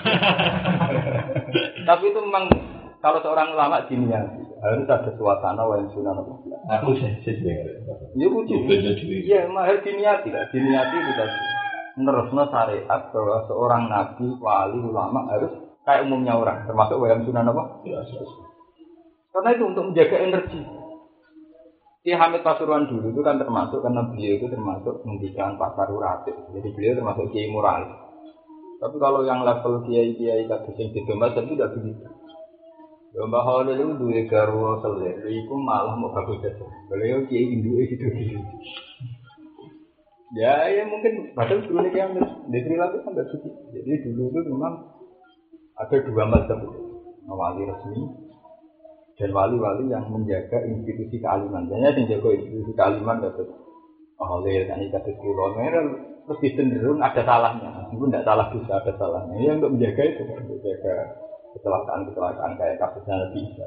Tapi itu memang kalau seorang ulama diniati harus ada suasana yang sunnah. Aku sesuai. Iya lucu. Iya, mahal diniati lah. Diniati itu tadi. Menerusnya syariat bahwa seorang nabi, wali, ulama harus kayak umumnya orang, termasuk wayang sunnah apa? Karena itu untuk menjaga energi. Ki Hamid Pasuruan dulu itu kan termasuk karena beliau itu termasuk mendidikan pasar uratif. Jadi beliau termasuk kiai moralis. Tapi kalau yang level kiai-kiai kados sing didomas itu tidak begitu. Mbah Khalil itu duwe garwa selir, iku malah mau bagus aja. Beliau kiai induke gitu. Ya mungkin padahal dulu nih yang di Sri Lanka kan tidak begitu. Jadi dulu itu memang ada dua mazhab, wali resmi dan wali-wali yang menjaga institusi kealiman. Jadi yang jaga institusi kealiman dapat oleh kan ikat sekolah. Terus cenderung ada salahnya. Meskipun tidak salah bisa ada salahnya. Yang untuk menjaga itu, untuk menjaga kecelakaan kayak kasusnya Nabi Isa.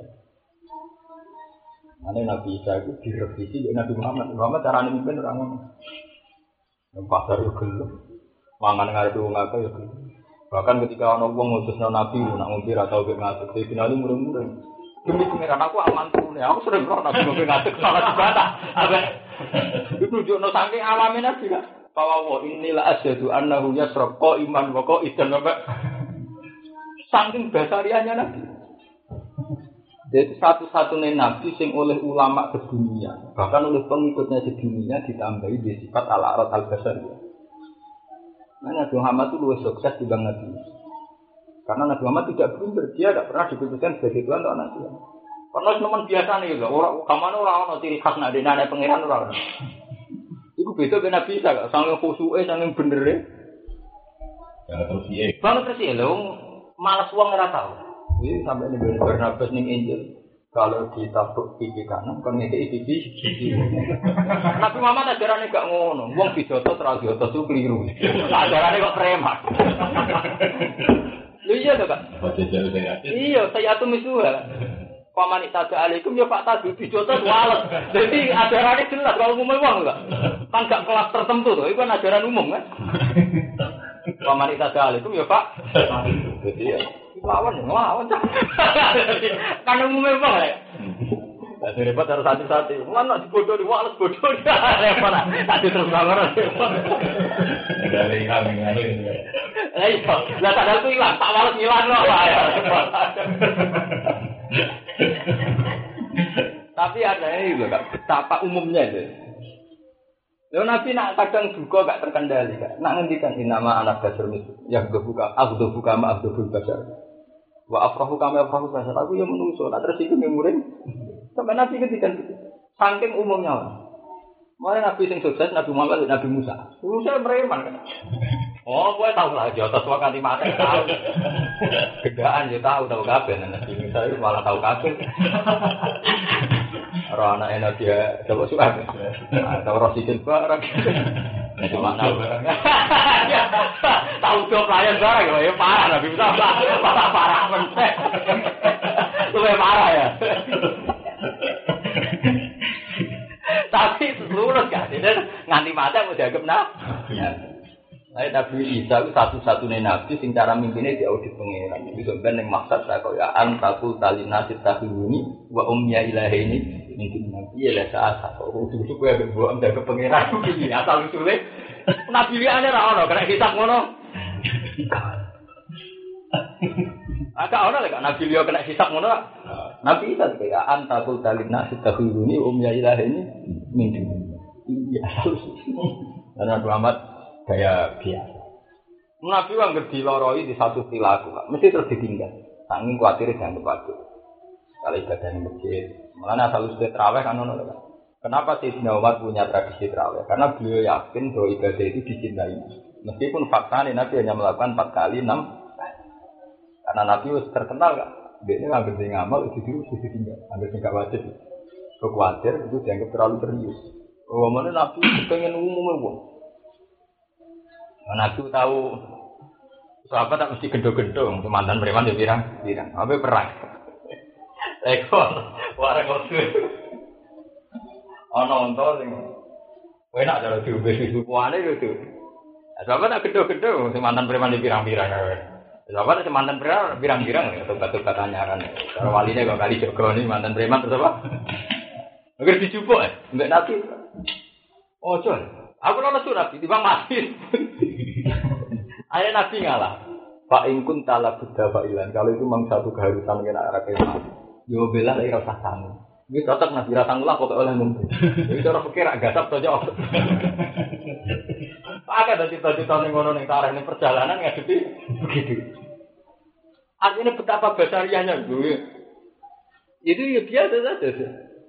Mana Nabi Isa itu direvisi oleh Nabi Muhammad. Muhammad cara memimpin orang yang pasar itu gelap, mangan ngarep wong akeh ya gelap. Bahkan ketika ana wong ngutusna Nabi nak ngombe ra tau ngatur, finale murung-murung. Demi pangeran aku aman tuh, aku sering roh nabi ngombe ngatek salah dibantah. Itu jono saking alame nabi kan. Pawawa inilah asyhadu annahu yasraq iman wa qaidan wa saking basariannya nabi. Jadi satu-satunya nabi sing oleh ulama sedunia, bahkan oleh pengikutnya sedunia ditambahi di sifat al-arad al-basariyah. Nah, Nabi Muhammad itu lebih sukses dibanding Nabi. Karena Nabi Muhammad tidak blunder, dia tidak pernah dikhususkan sebagai Tuhan atau Nabi. Karena teman biasa nih, orang kamane orang ciri khas nak dene pangeran orang. Iku beda dengan Nabi Isa, sange khusuke, sange bener. Banget terus ya, malas uang ora tau. Ini sampai nih Barnabas ning Injil. Kalau ditabuk pipi kanan, kan ngekei pipi. Nabi Muhammad ajarannya gak ngono. Wong dijotos ra diotos itu keliru. Ajarannya kok preman. Lho iya to, Kak? Iya, saya atuh misuha. Paman itaga alaikum ya Pak Tadu dijotos wales. Jadi ajarannya jelas kalau umum wong enggak. Kan gak kelas tertentu to, itu kan ajaran umum kan. Paman itaga alaikum ya Pak. Jadi ya lawan. Kan umumnya apa ya? Jadi repot harus hati-hati. Mana dibodoh di wales bodoh dia repot. Tadi terus bangun. Dari kami ngene. Iya, lah sadar ku ilang, tak wales ngilang loh ya. Tapi ada ini loh Kak, betapa umumnya itu. Lalu Nabi nak kadang juga gak terkendali Kak. Nak ngendikan nama anak dasar musuh. Yang buka ma abdul basar. Wa afrahu kama afrahu basar. Aku yang menungso, nak tersinggung yang murid. Sampai Nabi ngendikan gitu. Saking umumnya orang. Mulai Nabi sing sukses Nabi Muhammad dan Nabi Musa. Musa preman kan. Oh, gue tahu lah jotos wakati mati tahu. Gedaan dia tahu kabeh Nabi Musa itu malah tahu kabeh. Ora anak enak dia coba suka. Tahu rosidin barang. Cuma tahu barang. Tahu job pelayan barang ya parah Nabi Musa. Parah meneh. Luwih parah ya. Tapi lulus kan, nganti mati mau dianggap nabi. Nabi Isa itu satu-satunya nabi sing cara mimpinnya di audit pengeran. Itu sebenarnya yang maksud saya kau ya antakul talinasi tahuni wa umya ilahi ini mungkin nabi ya saat kau udah gue berbuat dari pengeran begini asal usulnya nabi dia ada orang kena hisap ngono. Agak orang lagi nabi dia kena hisap ngono. Nabi Isa kayak antakul talinasi tahuni umya ilahi ini mungkin. Iya. Karena Muhammad kayak biasa. Nabi wong ngerti loroi di satu perilaku, mesti terus ditinggal. Saking kuatir jangan waktu. Kalau ibadah di masjid, malah asal usul terawih kan ono. Kenapa Sayyidina Umar punya tradisi terawih? Karena beliau yakin bahwa ibadah itu dicintai. Meskipun faktanya Nabi hanya melakukan 4 kali 6 kali. Karena Nabi terkenal kan, dia ini nggak ngerti ngamal itu ditinggal, nggak nggak wajib. Kekuatir itu dianggap terlalu serius. Oh mana Nabi pengen umum. Nabi tahu sahabat tak mesti gendong-gendong, mantan preman ya pirang. Apa perang? Ekor, warang kotor. Ono onto sing Enak cara diombe susuane gitu. Sahabat tak gedho-gedho sing mantan preman di pirang-pirang. Sahabat sing mantan preman pirang-pirang ya tobat-tobat anyaran. Cara waline kok kali Joko ni mantan preman terus apa? Agar dijupuk mbek Nabi. Ojo. Aku ora surat di bang mati. Ayo Nabi ngalah. Pak ingkun tala buddha fa'ilan. Kalau itu memang satu keharusan kena arah kemah. Yo bela lagi rasa sangu. Ini cocok Nabi rasa ngulah kok oleh mungkin. Jadi cara pikir agak gasap saja. Pakai dari cita-cita ning ngono ning tareh ning perjalanan ngadepi begitu. Artinya betapa besarnya gue. Itu ya biasa saja.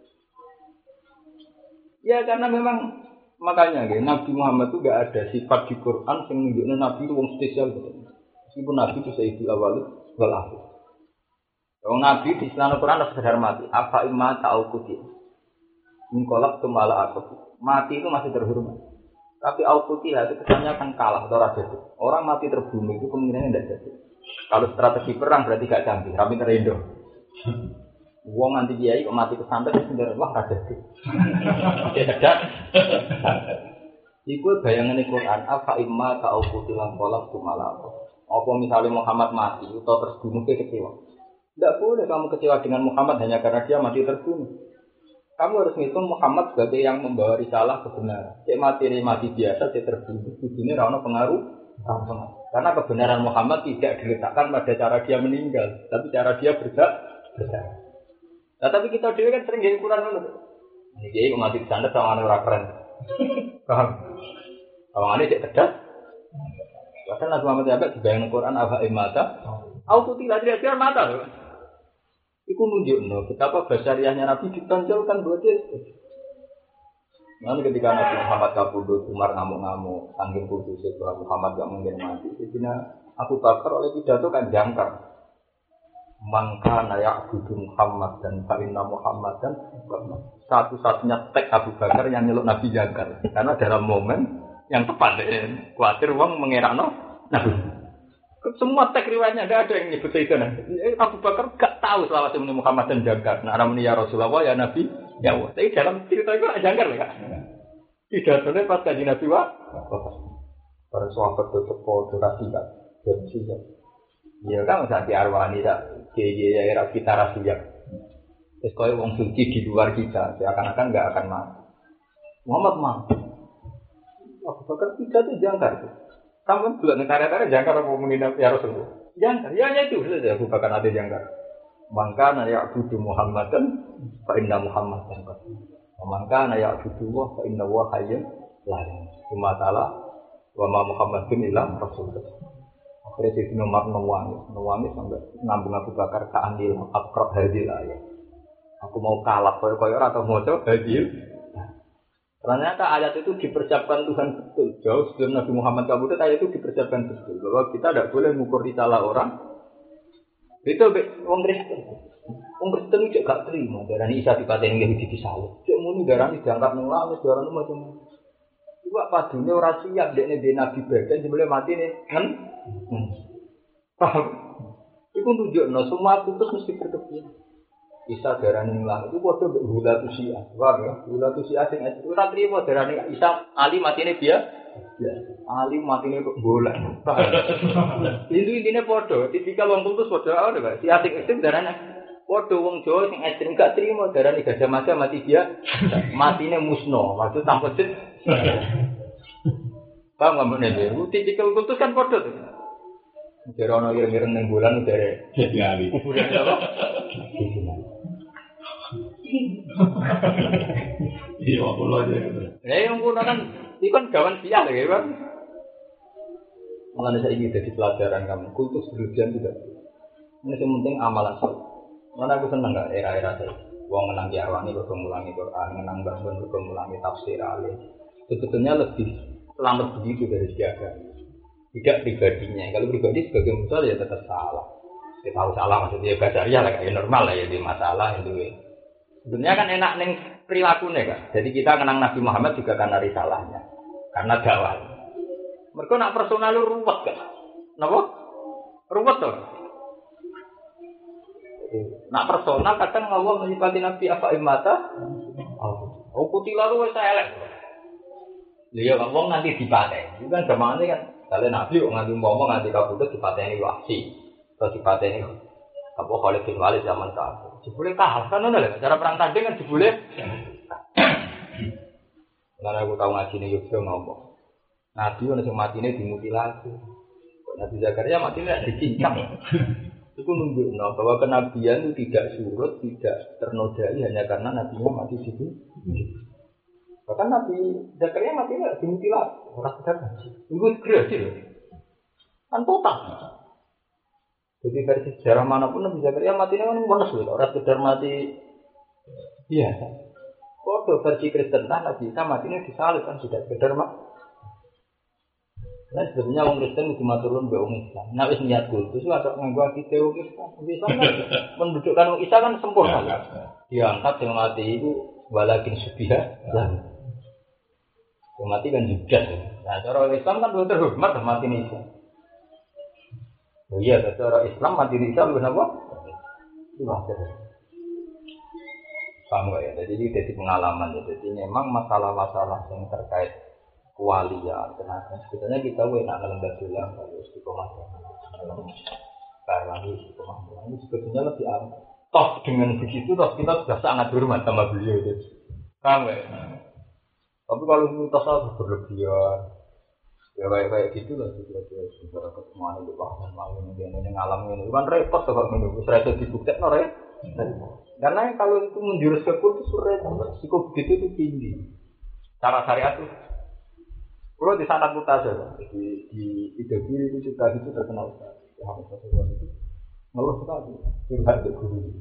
Ya karena memang makanya Nabi Muhammad itu gak ada sifat di Quran yang menunjukkan Nabi itu wong spesial gitu. Meskipun Nabi itu sayyidul awal wal akhir. Wong Nabi di Islam Quran harus sadar mati. Apa imma ta'ukuti. Mengkolak tumala aku. Mati itu masih terhormat. Tapi aukuti itu kesannya akan kalah atau raja itu. Orang mati terbunuh itu kemungkinannya tidak jadi. Kalau strategi perang berarti gak canggih. Kami terindo. Wong anti kiai kok mati kesantet itu sendiri wah raja itu. Oke sedap. Iku bayangan Quran. Apa imma ta'ukuti mengkolak tumala aku. Apa misalnya Muhammad mati atau terbunuh kecewa? Tidak boleh kamu kecewa dengan Muhammad hanya karena dia mati terbunuh. Kamu harus ngitung Muhammad sebagai yang membawa risalah kebenaran. Cek mati biasa, cek terbunuh. Ini rana pengaruh. Karena kebenaran Muhammad tidak diletakkan pada cara dia meninggal, tapi cara dia berdakwah. Nah, tapi kita dulu kan sering jadi Quran dulu. Ini kiai mati di sana sama orang keren. Paham? Kalau ini cek cerdas. Bahkan Nabi Muhammad sampai dibayang Quran apa imata, auto tidak mata loh. Iku nunjukno betapa basariahnya Nabi ditonjolkan buat dia. Nanti ketika Nabi Muhammad kabudut, Umar ngamuk-ngamuk, sanggih kudus itu Muhammad gak mungkin mati. Sehingga Abu Bakar oleh pidato kan jangkar. Mangka nayak budu Muhammad dan Farinna Muhammad dan satu-satunya tek Abu Bakar yang nyeluk Nabi jangkar. Karena dalam momen yang tepat, khawatir wong mengerakno Nabi. Semua teks riwayatnya tidak ada yang nyebut itu. Abu Bakar gak tahu selawat Nabi Muhammad dan jangkar. Nah, namanya ya Rasulullah ya Nabi ya Allah. Tapi dalam cerita itu ada jangkar ya. Tidak boleh pas kaji Nabi wa. Para sahabat tetap durasi kan. Durasi kan. Ya kan saat di arwani tak. Jadi ya kita rahasia. Terus kalau wong suci di luar kita, seakan-akan nggak akan mati. Muhammad mati. Abu Bakar tidak itu jangkar. Kamu juga negara-negara jangkar apa menghina ya Rasulullah? Jangkar, ya itu saja Abu Bakar ada jangkar. Maka naya abudu Muhammadan, fa inna Muhammadan qad. Maka naya abudu wa fa inna wa hayyun la ilaha illa wa ma Muhammadun illa rasulullah. Akhirnya si Umar nangis sampai nambung Abu Bakar ke andil akrab hadil ayat. Aku mau kalah koyo-koyo atau moco hadil. Ternyata ayat itu dipersiapkan Tuhan betul. Jauh sebelum Nabi Muhammad kabudut ayat itu dipersiapkan betul. Bahwa kita tidak boleh mengukur risalah orang. Itu orang Kristen. Orang Kristen juga gak terima. Darah ini Isa dipatahin Yahudi disalib. Cik muni darah ini dianggap nangis. Darah ini macam-macam. Juga padunya orang siap. Dia ini Nabi badan. Sebelum mati ini. Kan? Paham? Itu tunjuknya. Semua putus mesti berkebiasaan. Isa darani ngelang itu padha mbek hula tusia. Wah ya, hula tusia sing ora trimo darani Isa Ali matine dia. Ya, Ali matine kok golek. Itu intine padha, tipikal wong putus padha ora Pak. Si asing ekstrem darani padha wong Jawa sing ekstrem gak trimo darani Gajah Mada mati dia. Matine musno, maksud tanpa jet. Paham gak meneh? Tipikal putus kan padha tuh. Jare ana ireng-ireng ning bulan jare Ali. Kuburan apa? Iya, aku lo aja. Yang punya kan, itu kan gawan sial ya, Bang. Mengenai saya ini jadi pelajaran kamu, kultus berlebihan juga. Ini yang penting amalan saya. Mana aku senang nggak era-era saya. Wong menang diarwani berpengulangi Quran, menang bahkan berpengulangi tafsir alim. Sebetulnya lebih selamat begitu dari siaga. Tidak pribadinya. Kalau pribadi sebagai musuh ya tetap salah. Kita tahu salah maksudnya basaria lah, kayak normal lah ya di masalah itu. Sebenarnya kan enak neng perilakunya kan. Jadi kita kenang Nabi Muhammad juga karena risalahnya, karena dakwah. Mereka nak personal lu ruwet kan? Napa? Ruwet tuh. Nak personal kadang Allah menyifati Nabi apa imata? Oh putih lalu saya elek. Iya, wong nanti dipateni. Itu kan gamane kan kalian nabi kok nganti ngomong nganti kabudut dipateni wasi. Atau dipateni apa Khalid bin Walid zaman kafir. Jebule kalah kan ngono lho. Cara perang tanding kan jebule. Karena aku tahu ngaji ning Yogyakarta ngomong. Nabi ono sing matine dimutilasi. Nabi Zakaria matine dicincang. Itu menunjukkan bahwa kenabian itu tidak surut, tidak ternodai hanya karena nabinya mati situ. Bahkan Nabi Zakaria mati tidak dimutilasi, orang tidak mati. Itu gerasi loh, kan total. Jadi versi sejarah manapun Nabi Zakaria matinya kan bonus loh, orang sekedar mati biasa. Kalau versi Kristen Nabi Isa matinya disalib kan tidak sekedar mati. Nah sebenarnya orang Kristen itu maturun be orang Islam. Nah wis niat khusus ada nganggo ati teori Islam kan mendudukkan orang Isa kan sempurna. Diangkat yang mati itu walakin subiha lah. Yang mati kan judas. Nah cara Islam kan lebih terhormat mati Isa. Oh iya, cara Islam mati Isa lebih apa? Itu wajar. Paham ya? Jadi ini jadi pengalaman ya. Jadi memang masalah-masalah yang terkait kewalian, tenaga. Sebetulnya kita enak lembaga bilang kalau istiqomah karena istiqomah ini sebetulnya lebih aman. Toh dengan begitu toh kita sudah sangat hormat sama beliau itu. Paham ya? Tapi kalau kita salah berlebihan, ya kayak gitu lah juga saudara ketemuan itu bahkan mau ini ngalamin ini kan repot tuh kalau menunggu serasa dibuktikan orang. Karena kalau itu menjurus ke kultus repot, risiko begitu itu tinggi. Cara syariat itu. Kalau di sana putar saja, di Idul itu juga itu terkenal sekali. Yang sesuatu itu ngeluh sekali, curhat ke guru.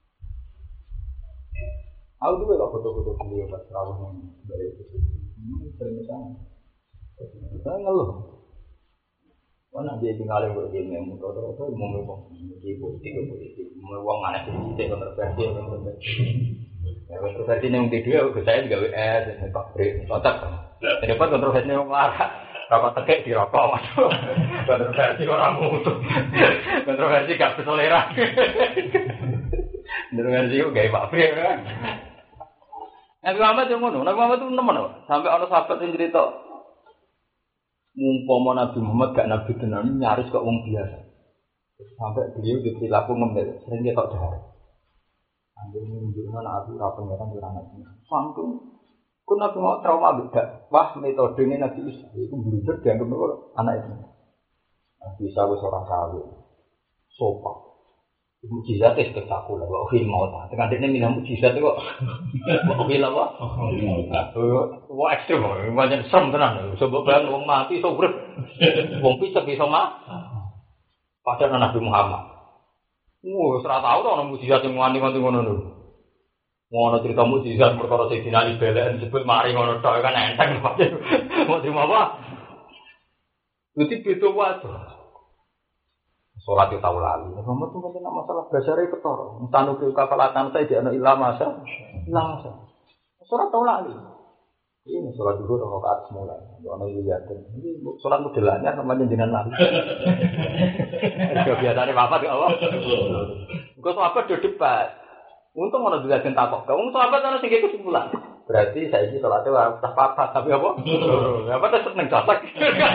Aku tuh kalau foto-foto beliau pas rawuh yang dari itu, sering kesana. Saya ngeluh. Mana dia tinggal yang begini, motor mau ngomong, politik, mau uang mana sih, kontroversi. Kontroversi yang kedua, saya juga WS, Pak Bri, otak. Dapat kontroversi yang marah, rapat tekek di rokok, masuk. Kontroversi orang mutu, kontroversi gak berselera. Kontroversi itu gaya Pak Bri, kan? Nabi Muhammad yang mana? Nabi Muhammad itu teman, sampai orang sahabat yang cerita, mumpama Nabi Muhammad gak Nabi tenan nyaris kok wong biasa. Sampai beliau diperilaku ngembel, sering dia tak dahar. Ambil menunjukkan aku pengeran di ranah ini. Sangking, aku Nabi mau trauma beda. Wah metodenya Nabi Isa itu blunder dianggap anak itu. Nabi Isa itu seorang kawin, sopan, mukjizatnya spektakuler. Wah mau tak? Dengan dia minum mukjizat itu kok. Wah apa? Wah ekstrim, macam serem tenan. Sebab bayang wong mati, sobrek, wong pisah bisa mah. Padahal Nabi Muhammad. Serah tahu tau orang mujizat yang nganti ngono lho. Ngono cerita mujizat perkara Sayyidina Ali belen sebut mari ngono tok kan enteng pasti. Mau terima apa? Berarti beda wae. Salat itu tahu lali. Muhammad tuh kan masalah basare ketara. Tanu ke kafalatan saya di ana ilmu masa. Salat tahu lali. Ini salat dulu rakaat semula. Ono liyaten. Ini salat modelannya namanya jenengan lali. Kebiasaane bapak di Allah. Engko sahabat do debat. Untung ana dilajen takok. Wong sahabat ana sing kesimpulan. Berarti saiki salate ora usah papat tapi apa? Apa tetep ning dasak.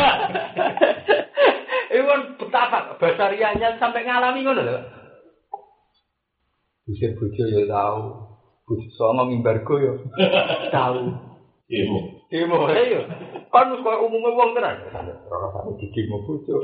Iwan betapa basarianya sampai ngalami ngono lho. Bisa bojo ya tahu. Bojo songo mimbargo ya tahu. Demo ayo. Kan koyo umume wong tenan. Ora sampe didemo bojo.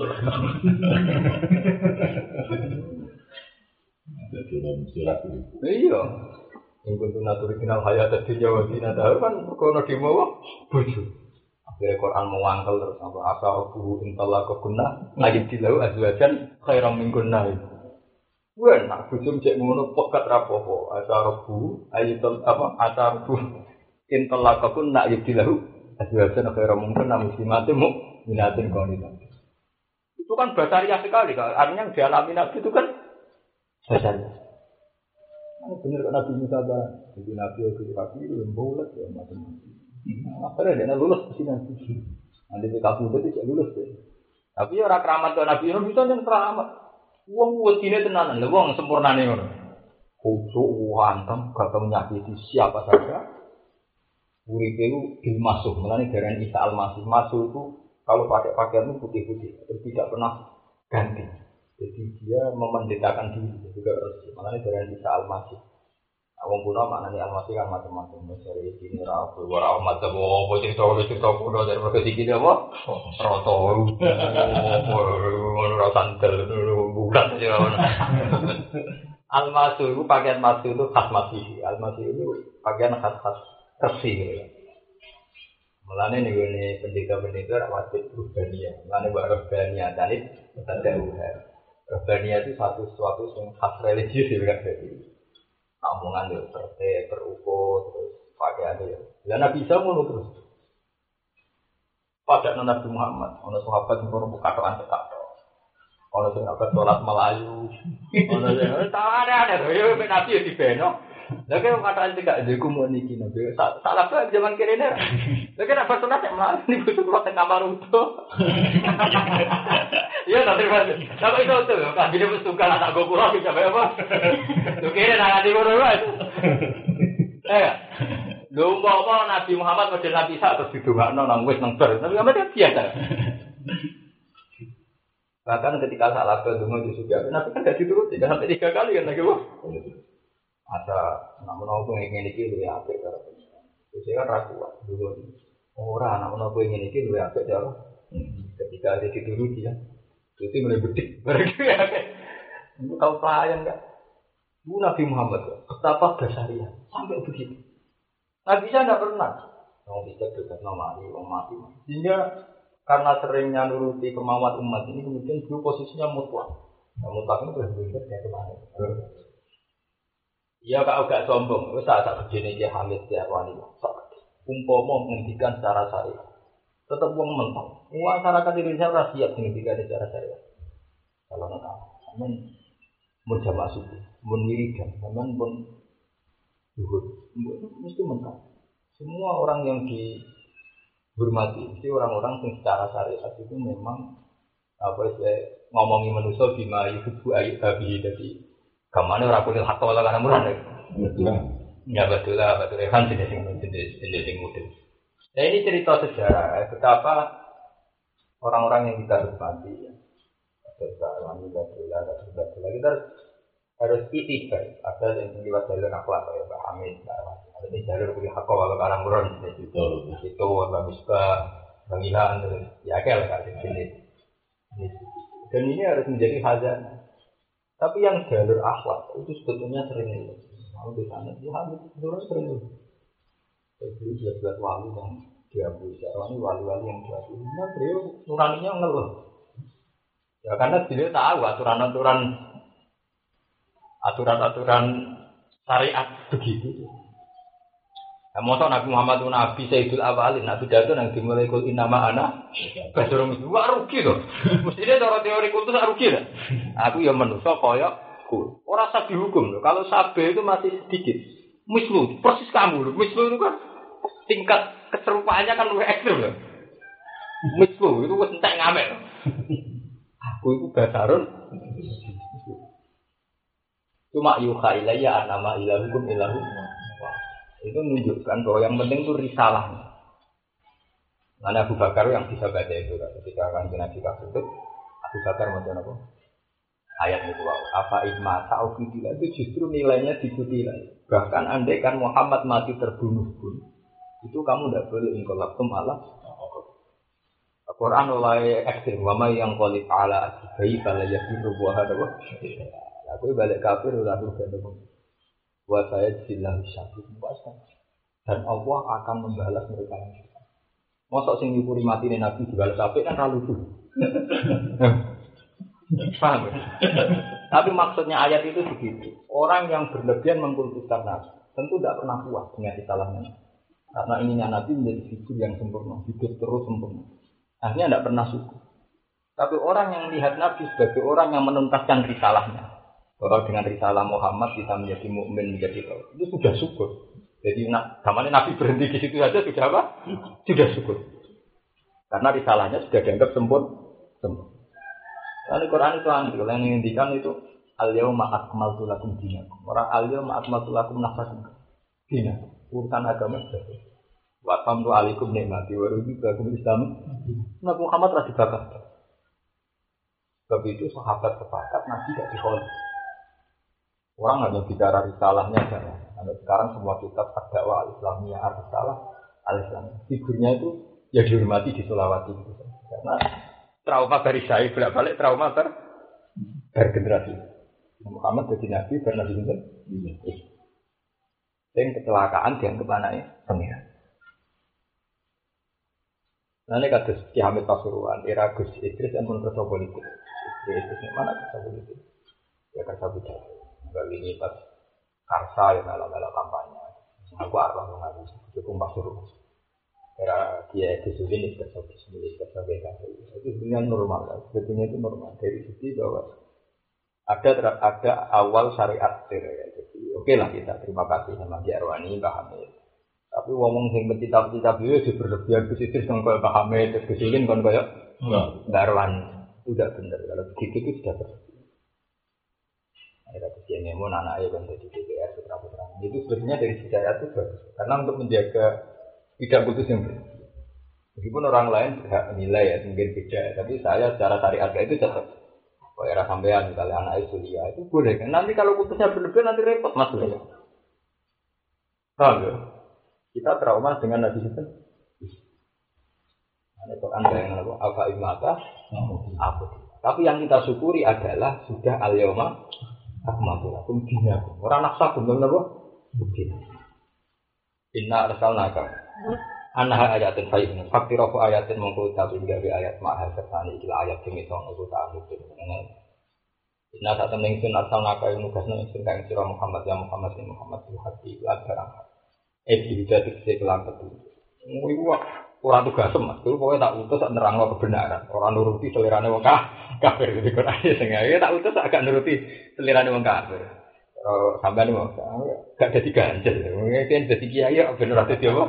Iya. Yang kuntu naturi kenal hayat di Jawa Timur tahu kan kono demo bojo. Akhirnya Quran mewangkel terus apa asal guru intala kegunah lagi dilau azwajan khairam min gunnah. Wen nak bojo cek ngono pekat rapopo asal guru ayitul apa asal guru intala kegunah lagi dilau azwajan khairam min gunnah muslimatin mu'minatin qanitin. Itu kan basariah sekali kan. Artinya yang dialami Nabi itu kan basariah. Benar kan Nabi Musa kan, jadi Nabi itu bulat ya macam-macam. Akhirnya dia lulus ke sini. Nanti di kampung itu tidak lulus deh. Tapi orang keramat ke Nabi itu yang keramat. Uang wajibnya tenanan, uang sempurna nih orang. Khusyuk, hantem, gak tahu menyakiti siapa saja. Uripe itu dimasuh, mulane darah Isa al-Masih. Masuk itu kalau pakai pakaian itu putih-putih, terus tidak pernah ganti. Jadi dia memendetakan diri juga harus. Mulane darah Isa al-Masih. Wong kuno maknane al-Masih kan macam-macam. Misalnya ini rabu, wara macam apa cerita kuno dari berbagai segi apa? Roto, ora santel, bulan aja. Al-Masih itu pakaian Masih itu khas Masih. Al-Masih itu pakaian khas-khas Tersi gitu ya. Mulane nih gue pendeta-pendeta wajib Ruhbaniyah. Mulane buat Ruhbaniyah tadi ada uher. Ruhbaniyah itu sesuatu yang khas religius juga jadi. Omongan yo terukur terus pakaian yo. Lah Nabi Isa ngono terus. Pada Nabi Muhammad, ono sahabat sing ora buka toan tekak. Ono sing abad salat Melayu. Ono sing ada yo Nabi yo dibeno. Lah kene kataan tidak iku mun iki Nabi. Salah bae zaman kene. Lah kene apa sunat Melayu niku kula teng kamar utuh. Iya nanti mas. Tapi itu tuh kan dia mesti suka anak gue kurang bisa apa? Tuh kira nak di mana itu? Lomba apa Nabi Muhammad model Nabi Isa terus didongakno nang wis nang bar. Nabi Muhammad itu biasa. Bahkan ketika salah donga di surga, Nabi kan gak dituruti, sampai 3 kali kan lagi wah. Ada namun aku ingin iki luwih apik karo pengiran. Terus kan ra kuat dulu. Ora namun aku ingin iki luwih apik karo. Ketika ada dituruti ya. Itu mulai bedik. Itu tahu pelayan enggak? Bu Nabi Muhammad betapa dasarnya sampai begitu. Nabi Isa enggak pernah. Orang bisa dekat nama Ali, orang mati. Sehingga karena seringnya nuruti kemauan umat ini kemudian dulu posisinya mutlak. Nah, mutlak itu berbeda dari kemana? Iya kalau gak sombong, itu saat begini dia Hamid dia wali. Umpama menghentikan secara syariat, tetap uang mental. Masyarakat Indonesia harus siap menghentikan secara syariat. Kalau nak, namun berjamaah subuh, menwiridan, namun pun zuhur, mesti mental. Semua orang yang dihormati, mesti orang-orang yang secara syariat itu memang apa sih ngomongi manusia bima yuhibbu ayyuhabi jadi kamane ora kulit hak wala kana murah nek. Ya betul kan jenis model. Nah ini cerita sejarah betapa orang-orang yang kita hormati ya. Sekarang kita harus itibar. Ada yang lewat jalur akhlak kayak Pak Hamid, ada yang jalur kulit hak wala kana murah itu Mbak Misbah, Bang Ilhan ya kayak lah jenis. Dan ini harus menjadi khazanah. Tapi yang jalur akhlak itu sebetulnya sering itu. Mau di sana dia habis terus sering itu. Jadi dia buat wali yang diambil sekarang ini wali-wali yang diambil. Nah beliau nuraninya ngeluh. Ya karena beliau tahu aturan syariat begitu. Nah, masa Nabi Muhammad itu Nabi Sayyidul Awalin, Nabi Datu yang dimulai kul innama ana basyarun mislukum rugi to. Mestine cara teori kultus rugi lah. Aku ya manusa kaya ku. Ora sah dihukum lho. Kalau sabe itu masih sedikit. Mislu persis kamu lho. Mislu itu kan tingkat keserupaannya kan lebih ekstrem lho. Mislu itu wis entek ngamek. Aku itu basyarun. Cuma yuha ilayya annama ilahukum ilahu. Itu menunjukkan bahwa yang penting itu risalahnya. Mana Abu Bakar yang bisa baca itu ketika Kanjeng Nabi itu Abu Bakar macam apa? Ayat itu apa ikma ta'ufidillah itu justru nilainya diikuti. Bahkan andaikan Muhammad mati terbunuh pun itu kamu tidak boleh ingkolabtum Allah. Al-Quran oleh ekstrim wama yang qalib ala bayi bala yakiru buah ada. Aku balik kafir udah bergandung. Buat saya silah syahid puasa dan Allah akan membalas mereka yang kita. Mosok sing nyukuri mati Nabi dibalas apik kan ra lucu. Paham? Tapi maksudnya ayat itu begitu. Orang yang berlebihan mengkultuskan Nabi tentu tidak pernah puas dengan kesalahannya. Karena ininya Nabi menjadi figur yang sempurna, hidup terus sempurna. Akhirnya tidak pernah syukur. Tapi orang yang melihat Nabi sebagai orang yang menuntaskan risalahnya. Kalau dengan risalah Muhammad kita menjadi mukmin menjadi tahu itu sudah syukur. Jadi namanya Nabi berhenti di situ saja sudah apa? Sudah syukur. Karena risalahnya sudah dianggap sempurna. Lalu Quran itu kalau yang menghentikan itu al-yauma akmaltu lakum dinakum. Orang al-yauma akmaltu lakum nafsakum. Dinakum. Urusan agama sudah. Wa tamtu alaikum nikmati wa raditu Islam. Nabi Muhammad telah dibakar. Sebab itu sahabat sepakat Nabi tidak dikholif. Orang hanya bicara risalahnya saja. Nah, sekarang semua kitab dakwah al-Islamiyah al-Risalah al-Islam. Figurnya itu ya dihormati di Sulawesi gitu. Karena trauma dari saya bolak-balik trauma bergenerasi. Muhammad jadi nabi karena nabi itu. Dan kecelakaan dianggap anaknya pengiran. Nah ini kados Ki Hamid Pasuruan, era Gus Idris yang pun kerja politik. Idris ini mana kerja politik? Ya kerja budaya. Kali ini pas karsa yang ala-ala kampanye. Aku arwah mengaku cukup Pasuruan. Era Kiai Gus ini kerja bisnis, kerja BKP. Itu sebenarnya normal. Sebetulnya itu normal dari segi bahwa ada awal syariat ya. Jadi oke lah kita terima kasih sama Ki Arwani, Mbah Hamid. Tapi ngomong sing pencita-pencita beliau di berlebihan positif yang kayak Mbah Hamid terus kesulin kan kayak Mbah Arwani itu tidak benar. Kalau begitu itu sudah berlebihan. Ada kesiannya mau anaknya kan jadi DPR putra-putra. Itu sebenarnya dari syariat itu bagus. Karena untuk menjaga tidak putus yang berlebihan. Meskipun orang lain berhak menilai ya mungkin beda, tapi saya secara syariat itu tetap kalau era sampean misalnya anak Sulia itu boleh kan. Nanti kalau putusnya berlebihan nanti repot mas ya. Paham ya? Kita trauma dengan Nabi itu. Ada Quran yang apa imata apa. Tapi yang kita syukuri adalah sudah al-yawma akmaltu lakum dinakum. Ora naksa bener napa? Bukti. Inna arsalnaka anha ayatin fayyun. Faktirofu ayatin mongko tapi gawe ayat mahal sertane iki ayat sing iso ngono ta mungkin. Inna satam ning sun arsalnaka nugasna ing kang sira Muhammad ya Muhammad sing Muhammad hati lan barang. Bisa dikse kelam betul. Iku ora tugas Mas, pokoke tak utus sak nerangno kebenaran, ora nuruti selirane wong kafir iki Quran sing tak utus agak nuruti selirane wong kafir. Sampeyan mau gak dadi ganjel. Mungkin dadi kiai ben ora dadi apa?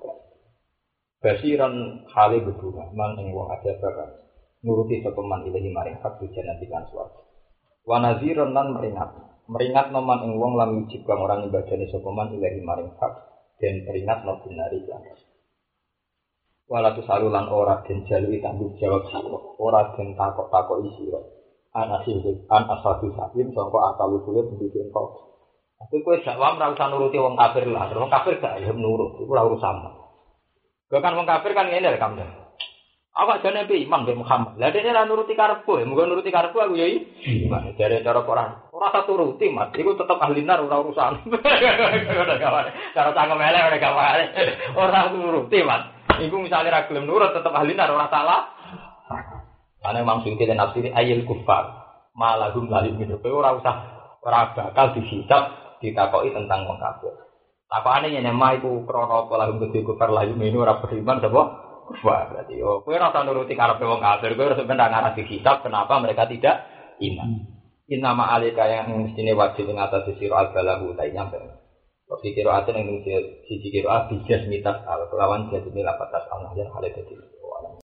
Basiran hale beduna man ing wong aja bakal nuruti sepeman ilahi maring hak janati lan swarga. Wa naziran lan meringat noman ing wong lam wujib kang ora nyembadani sepeman ilahi maring hak dan peringat no benari lan. Walatu salulan ora den jalui tanggung jawab sira, ora den takok-takok sira. Anasil an asadu sakin sangka asal usule pendidikan kok. Tapi kowe dakwah ora usah nuruti wong kafir lah, wong kafir gak gelem nurut, iku ora urusan. Kok kan wong kafir kan ngene lho kamu. Awak jane pe iman be Muhammad. Lah dene ora nuruti karepku, muga nuruti karepku aku ya iman. Jare cara Quran. Ora satu nuruti, Mas. Iku tetep ahli nar ora urusan. Cara cangkem elek ora gawe. Ora nuruti, Mas. Iku misale ra gelem nurut tetep ahli nar ora salah. Ana maksud kita nafsiri ayil kufar. Malahum lahir minhu. Ora usah ora bakal dihisab ditakoki tentang wong kafir. Takokane yen mah iku krana apa lahum kufar lahir minhu ora beriman sapa? Wah, berarti kowe ora usah nuruti karepe wong kafir, kowe harus ben ngarah dikitab kenapa mereka tidak iman. Innama alika yang mestine wajib ing atas sira al-balahu ta nyampe. Kok kira ate ning siji kira abijas mitas al kelawan jadi lapatas Allah yang hale dadi.